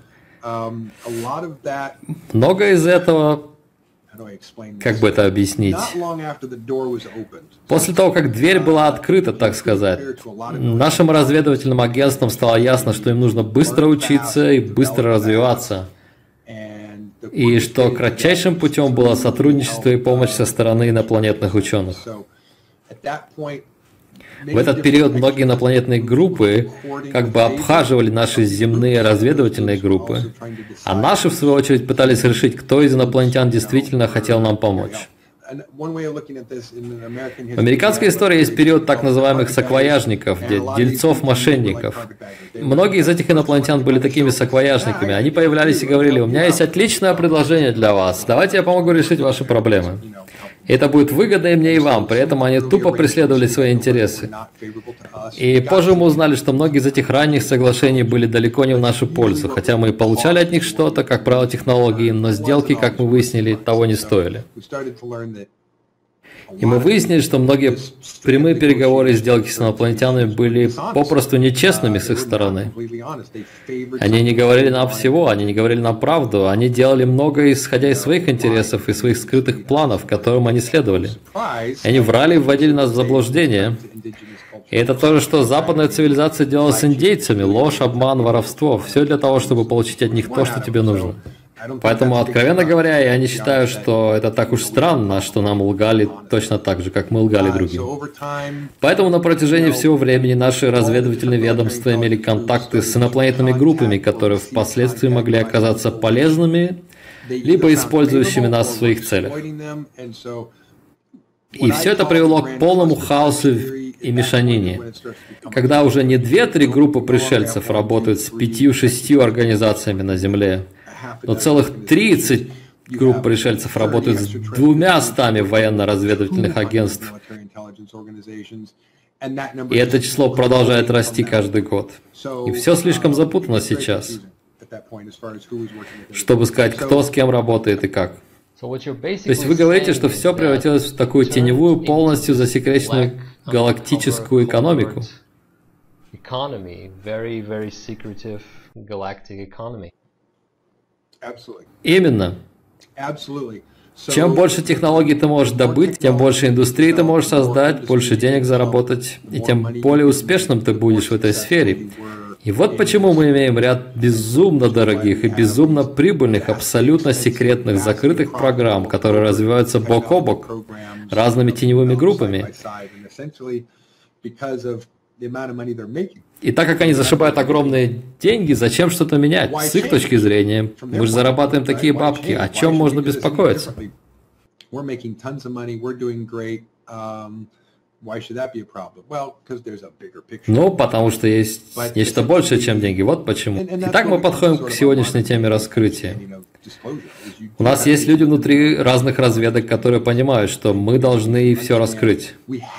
Много из этого, как бы это объяснить, после того, как дверь была открыта, так сказать, нашим разведывательным агентствам стало ясно, что им нужно быстро учиться и быстро развиваться, и что кратчайшим путем было сотрудничество и помощь со стороны инопланетных ученых. В этот период многие инопланетные группы как бы обхаживали наши земные разведывательные группы, а наши, в свою очередь, пытались решить, кто из инопланетян действительно хотел нам помочь. В американской истории есть период так называемых саквояжников, дельцов-мошенников. Многие из этих инопланетян были такими саквояжниками. Они появлялись и говорили: «У меня есть отличное предложение для вас. Давайте я помогу решить ваши проблемы. Это будет выгодно и мне, и вам». При этом они тупо преследовали свои интересы. И позже мы узнали, что многие из этих ранних соглашений были далеко не в нашу пользу, хотя мы и получали от них что-то, как правило, технологии, но сделки, как мы выяснили, того не стоили. И мы выяснили, что многие прямые переговоры и сделки с инопланетянами были попросту нечестными с их стороны. Они не говорили нам всего, они не говорили нам правду, они делали многое, исходя из своих интересов и своих скрытых планов, которым они следовали. И они врали и вводили нас в заблуждение. И это то же, что западная цивилизация делала с индейцами: ложь, обман, воровство. Все для того, чтобы получить от них то, что тебе нужно. Поэтому, откровенно говоря, я не считаю, что это так уж странно, что нам лгали точно так же, как мы лгали другим. Поэтому на протяжении всего времени наши разведывательные ведомства имели контакты с инопланетными группами, которые впоследствии могли оказаться полезными, либо использующими нас в своих целях. И все это привело к полному хаосу и мешанине, когда уже не две-три группы пришельцев работают с пятью-шестью организациями на Земле, но целых тридцать групп пришельцев работают с двумя стами военно-разведывательных агентств. И это число продолжает расти каждый год. И все слишком запутано сейчас, чтобы сказать, кто с кем работает и как. То есть вы говорите, что все превратилось в такую теневую, полностью засекреченную галактическую экономику. Именно. Чем больше технологий ты можешь добыть, тем больше индустрии ты можешь создать, больше денег заработать, и тем более успешным ты будешь в этой сфере. И вот почему мы имеем ряд безумно дорогих и безумно прибыльных, абсолютно секретных, закрытых программ, которые развиваются бок о бок разными теневыми группами. И так как они зашибают огромные деньги, зачем что-то менять? С их точки зрения, мы же зарабатываем такие бабки, о чем можно беспокоиться? Ну, потому что есть нечто большее, чем деньги. Вот почему. Итак, мы подходим к сегодняшней теме раскрытия. У нас есть люди внутри разных разведок, которые понимают, что мы должны все раскрыть.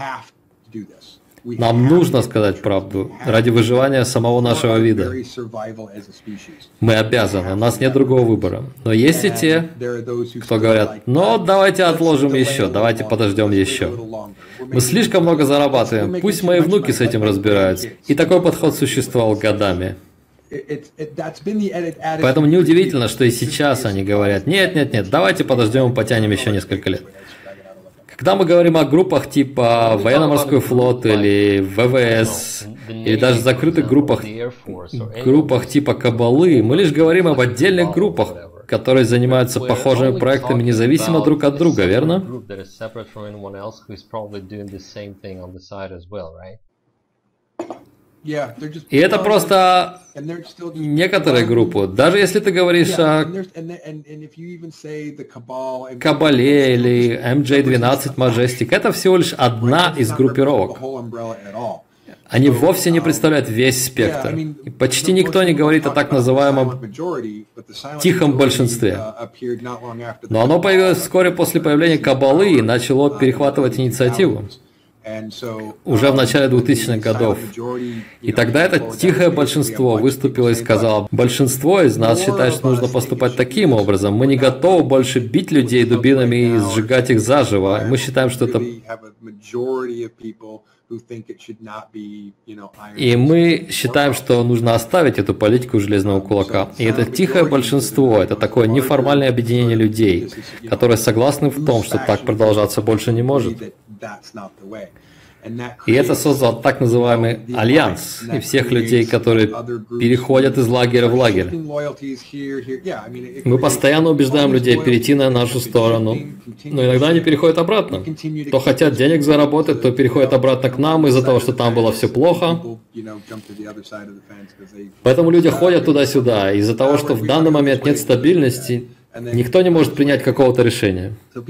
Нам нужно сказать правду ради выживания самого нашего вида. Мы обязаны, у нас нет другого выбора. Но есть и те, кто говорят: ну, давайте отложим еще, давайте подождем еще. Мы слишком много зарабатываем, пусть мои внуки с этим разбираются. И такой подход существовал годами. Поэтому неудивительно, что и сейчас они говорят, нет, нет, нет, давайте подождем и потянем еще несколько лет. Когда мы говорим о группах типа военно-морской флот или вэ вэ эс, или даже закрытых группах, группах типа Кабалы, мы лишь говорим об отдельных группах, которые занимаются похожими проектами независимо друг от друга, верно? И это просто некоторые группы. Даже если ты говоришь о Кабале или эм джей двенадцать Majestic, это всего лишь одна из группировок. Они вовсе не представляют весь спектр. И почти никто не говорит о так называемом тихом большинстве. Но оно появилось вскоре после появления Кабалы и начало перехватывать инициативу. Уже в начале двухтысячных годов. И тогда это тихое большинство выступило и сказало, большинство из нас считает, что нужно поступать таким образом. Мы не готовы больше бить людей дубинами и сжигать их заживо. Мы считаем, что это... И мы считаем, что нужно оставить эту политику железного кулака. И это тихое большинство, это такое неформальное объединение людей, которые согласны в том, что так продолжаться больше не может. И это создал так называемый альянс, и всех людей, которые переходят из лагеря в лагерь. Мы постоянно убеждаем людей перейти на нашу сторону, но иногда они переходят обратно. То хотят денег заработать, то переходят обратно к нам из-за того, что там было все плохо. Поэтому люди ходят туда-сюда, из-за того, что в данный момент нет стабильности, никто не может принять какого-то решения.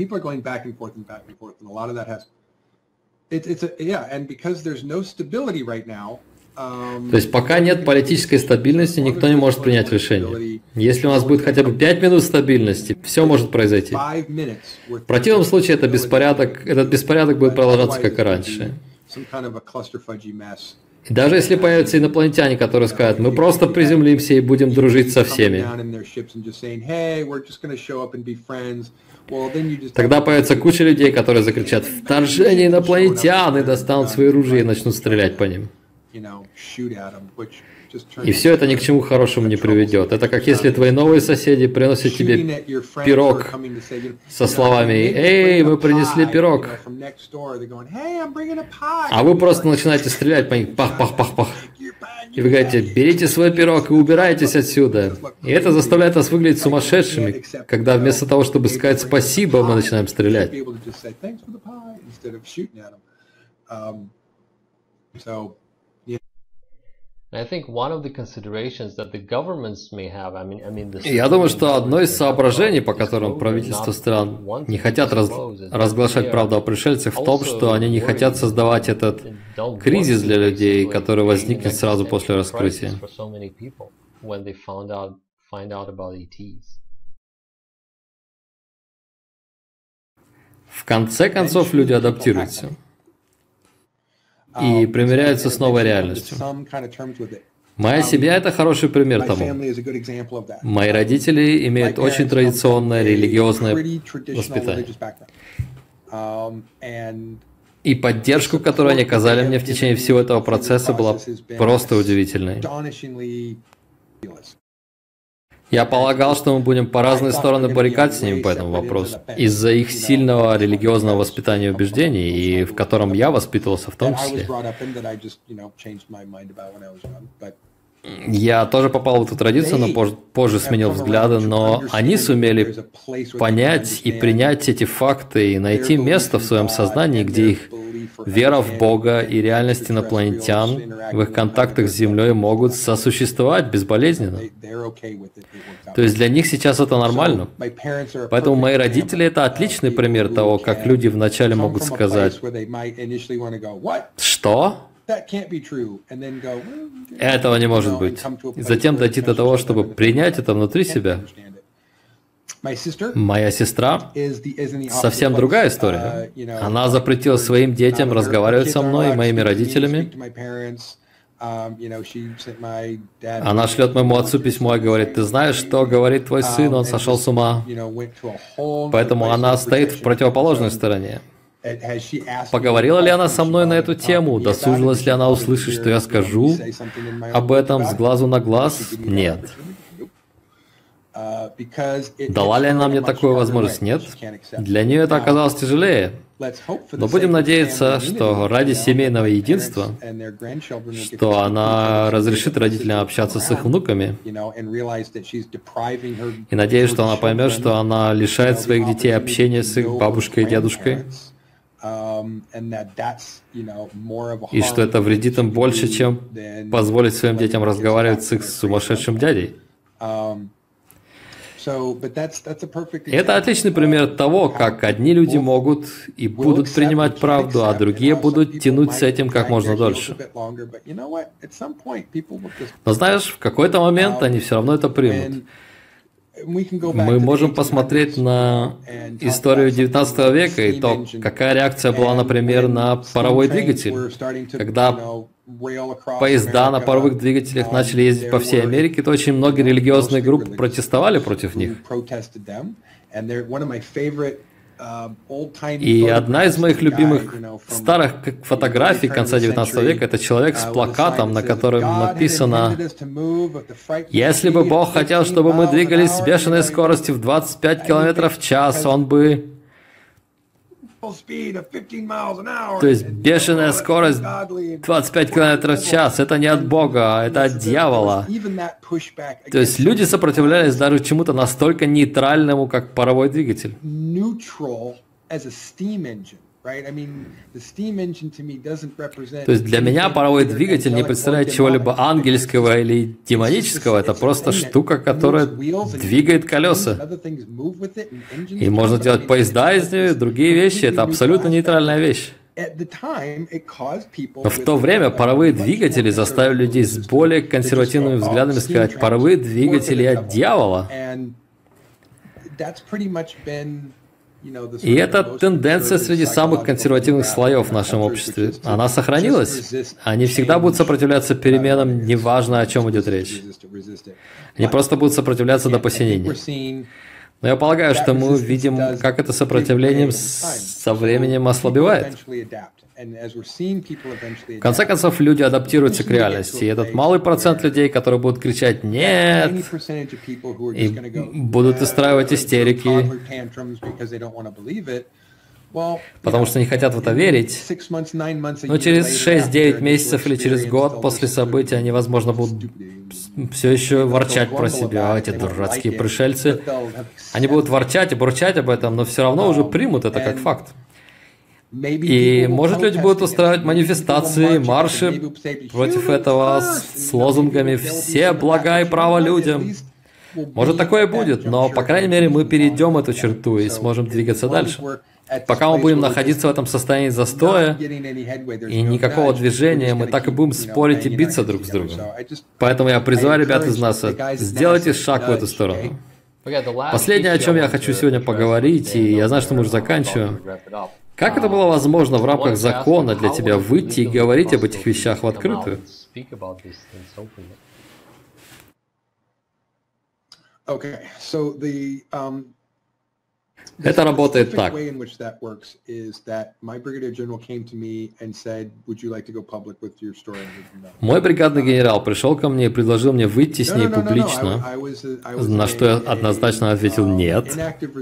То есть пока нет политической стабильности, никто не может принять решение. Если у нас будет хотя бы пять минут стабильности, все может произойти. В противном случае это беспорядок, этот беспорядок будет продолжаться как и раньше. И даже если появятся инопланетяне, которые скажут, мы просто приземлимся и будем дружить со всеми, тогда появится куча людей, которые закричат «Вторжение инопланетян!» и достанут свои ружья и начнут стрелять по ним. И все это ни к чему хорошему не приведет. Это как если твои новые соседи приносят тебе пирог со словами «Эй, мы принесли пирог!» А вы просто начинаете стрелять по них «Пах-пах-пах-пах!» И вы говорите «Берите свой пирог и убирайтесь отсюда!» И это заставляет нас выглядеть сумасшедшими, когда вместо того, чтобы сказать «спасибо», мы начинаем стрелять. Я думаю, что одно из соображений, по которым правительства стран не хотят раз... разглашать правду о пришельцах, в том, что они не хотят создавать этот кризис для людей, который возникнет сразу после раскрытия. В конце концов, люди адаптируются и примиряются с новой реальностью. Моя семья – это хороший пример тому. Мои родители имеют очень традиционное религиозное воспитание. И поддержку, которую они оказали мне в течение всего этого процесса, была просто удивительной. Я полагал, что мы будем по разные стороны баррикад с ними по этому вопросу, из-за их сильного религиозного воспитания и убеждений, и в котором я воспитывался в том числе. Я тоже попал в эту традицию, но позже, позже сменил взгляды, но они сумели понять и принять эти факты и найти место в своем сознании, где их вера в Бога и реальность инопланетян в их контактах с Землей могут сосуществовать безболезненно. То есть для них сейчас это нормально. Поэтому мои родители – это отличный пример того, как люди вначале могут сказать «Что?» Этого не может быть. И затем дойти до того, чтобы принять это внутри себя. Моя сестра – совсем другая история. Она запретила своим детям разговаривать со мной и моими родителями. Она шлет моему отцу письмо и говорит: ты знаешь, что говорит твой сын, он сошел с ума. Поэтому она стоит в противоположной стороне. Поговорила ли она со мной на эту тему? Досужилась ли она услышать, что я скажу об этом с глазу на глаз? Нет. Дала ли она мне такую возможность? Нет. Для нее это оказалось тяжелее. Но будем надеяться, что ради семейного единства, что она разрешит родителям общаться с их внуками. И надеюсь, что она поймет, что она лишает своих детей общения с их бабушкой и дедушкой. И что это вредит им больше, чем позволить своим детям разговаривать с их сумасшедшим дядей. И это отличный пример того, как одни люди могут и будут принимать правду, а другие будут тянуть с этим как можно дольше. Но знаешь, в какой-то момент они все равно это примут. Мы можем посмотреть на историю девятнадцатого века и то, какая реакция была, например, на паровой двигатель, когда поезда на паровых двигателях начали ездить по всей Америке, то очень многие религиозные группы протестовали против них. И одна из моих любимых старых фотографий конца девятнадцатого века – это человек с плакатом, на котором написано: «Если бы Бог хотел, чтобы мы двигались с бешеной скоростью в двадцать пять километров в час, Он бы…» То есть бешеная скорость двадцать пять километров в час – это не от Бога, это от дьявола. То есть люди сопротивлялись даже чему-то настолько нейтральному, как паровой двигатель. То есть для меня паровой двигатель не представляет чего-либо ангельского или демонического, это просто штука, которая двигает колеса. И можно делать поезда из нее, другие вещи, это абсолютно нейтральная вещь. Но в то время паровые двигатели заставили людей с более консервативными взглядами сказать: паровые двигатели от дьявола. И это тенденция среди самых консервативных слоев в нашем обществе. Она сохранилась. Они всегда будут сопротивляться переменам, неважно, о чем идет речь. Они просто будут сопротивляться до посинения. Но я полагаю, что мы видим, как это сопротивление со временем ослабевает. В конце концов, люди адаптируются к реальности. И этот малый процент людей, которые будут кричать «нет», и будут устраивать истерики, потому что не хотят в это верить. Но через шесть-девять месяцев или через год после события они, возможно, будут все еще ворчать про себя, эти дурацкие пришельцы. Они будут ворчать и бурчать об этом, но все равно уже примут это как факт. И, может, люди будут устраивать манифестации, марши против этого с лозунгами «все блага и право людям». Может, такое будет, но, по крайней мере, мы перейдем эту черту и сможем двигаться дальше. Пока мы будем находиться в этом состоянии застоя и никакого движения, мы так и будем спорить и биться друг с другом. Поэтому я призываю ребят из нас: сделайте шаг в эту сторону. Последнее, о чем я хочу сегодня поговорить, и я знаю, что мы уже заканчиваем. Как это было возможно в рамках закона для тебя выйти и говорить об этих вещах в открытую? Это работает так. Мой бригадный генерал пришел ко мне и предложил мне выйти с ней публично, на что я однозначно ответил «нет».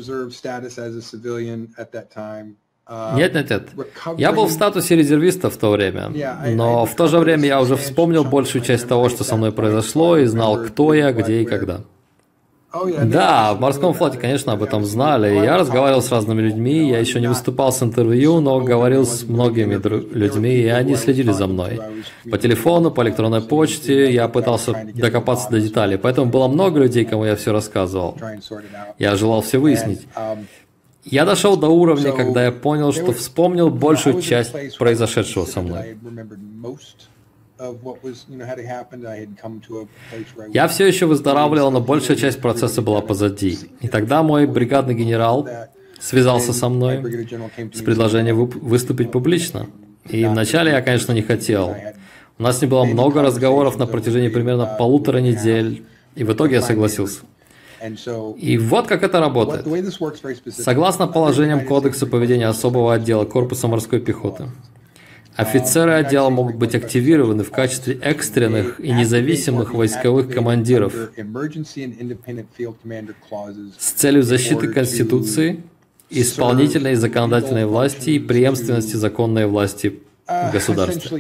Нет, нет, нет. Я был в статусе резервиста в то время, но в то же время я уже вспомнил большую часть того, что со мной произошло, и знал, кто я, где и когда. Да, в морском флоте, конечно, об этом знали. Я разговаривал с разными людьми, я еще не выступал с интервью, но говорил с многими людьми, и они следили за мной. По телефону, по электронной почте я пытался докопаться до деталей, поэтому было много людей, кому я все рассказывал. Я желал все выяснить. Я дошел до уровня, когда я понял, что вспомнил большую часть произошедшего со мной. Я все еще выздоравливал, но большая часть процесса была позади. И тогда мой бригадный генерал связался со мной с предложением выступить публично. И вначале я, конечно, не хотел. У нас не было много разговоров на протяжении примерно полутора недель, и в итоге я согласился. И вот как это работает. Согласно положениям Кодекса поведения особого отдела Корпуса морской пехоты, офицеры отдела могут быть активированы в качестве экстренных и независимых войсковых командиров с целью защиты Конституции, исполнительной и законодательной власти и преемственности законной власти в государстве.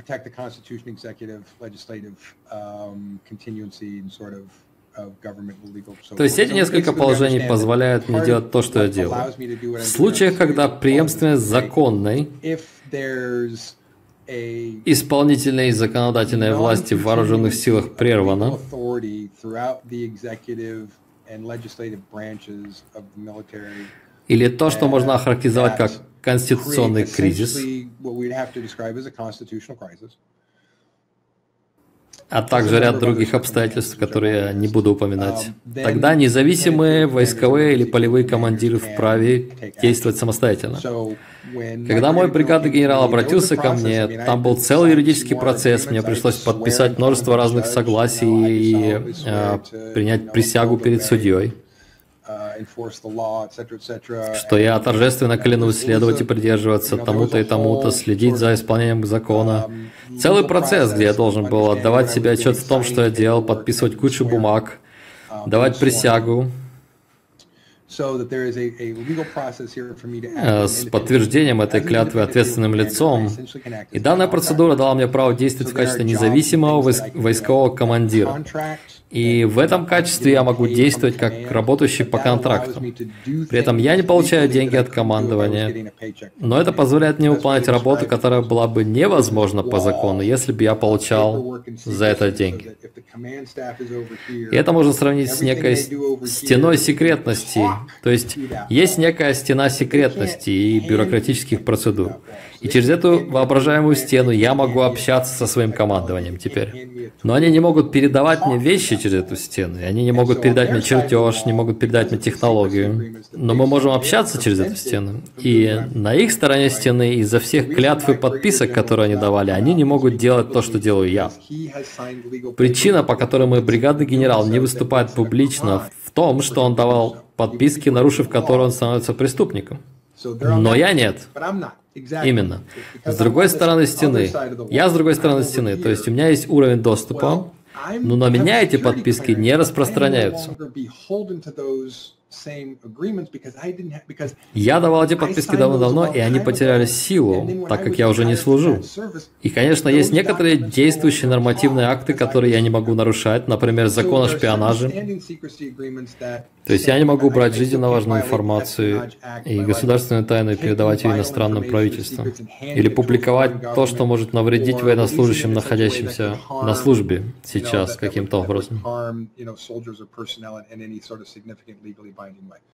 То есть эти несколько положений позволяют мне делать то, что я делаю. В случаях, когда преемственность законной, исполнительной и законодательной власти в вооруженных силах прервана, или то, что можно охарактеризовать как конституционный кризис, а также ряд других обстоятельств, которые я не буду упоминать. Тогда независимые войсковые или полевые командиры вправе действовать самостоятельно. Когда мой бригадный генерал обратился ко мне, там был целый юридический процесс, мне пришлось подписать множество разных согласий и э, принять присягу перед судьей, что я торжественно клянусь следовать и придерживаться тому-то и тому-то, следить за исполнением закона. Целый процесс, где я должен был отдавать себе отчет в том, что я делал, подписывать кучу бумаг, давать присягу с подтверждением этой клятвы ответственным лицом. И данная процедура дала мне право действовать в качестве независимого войскового командира. И в этом качестве я могу действовать как работающий по контракту. При этом я не получаю деньги от командования, но это позволяет мне выполнять работу, которая была бы невозможна по закону, если бы я получал за это деньги. И это можно сравнить с некой стеной секретности. То есть есть некая стена секретности и бюрократических процедур. И через эту воображаемую стену я могу общаться со своим командованием теперь. Но они не могут передавать мне вещи через эту стену. И они не могут передать мне чертеж, не могут передать мне технологию. Но мы можем общаться через эту стену. И на их стороне стены, из-за всех клятв и подписок, которые они давали, они не могут делать то, что делаю я. Причина, по которой мой бригадный генерал не выступает публично, в том, что он давал подписки, нарушив которые он становится преступником. Но я нет. Именно. С другой стороны стены. Я с другой стороны стены. То есть у меня есть уровень доступа, но на меня эти подписки не распространяются. Я давал эти подписки давно-давно, и они потеряли силу, так как я уже не служу. И, конечно, есть некоторые действующие нормативные акты, которые я не могу нарушать, например, закон о шпионаже. То есть я не могу брать жизненно важную информацию и государственную тайну и передавать ее иностранным правительствам. Или публиковать то, что может навредить военнослужащим, находящимся на службе сейчас каким-то образом.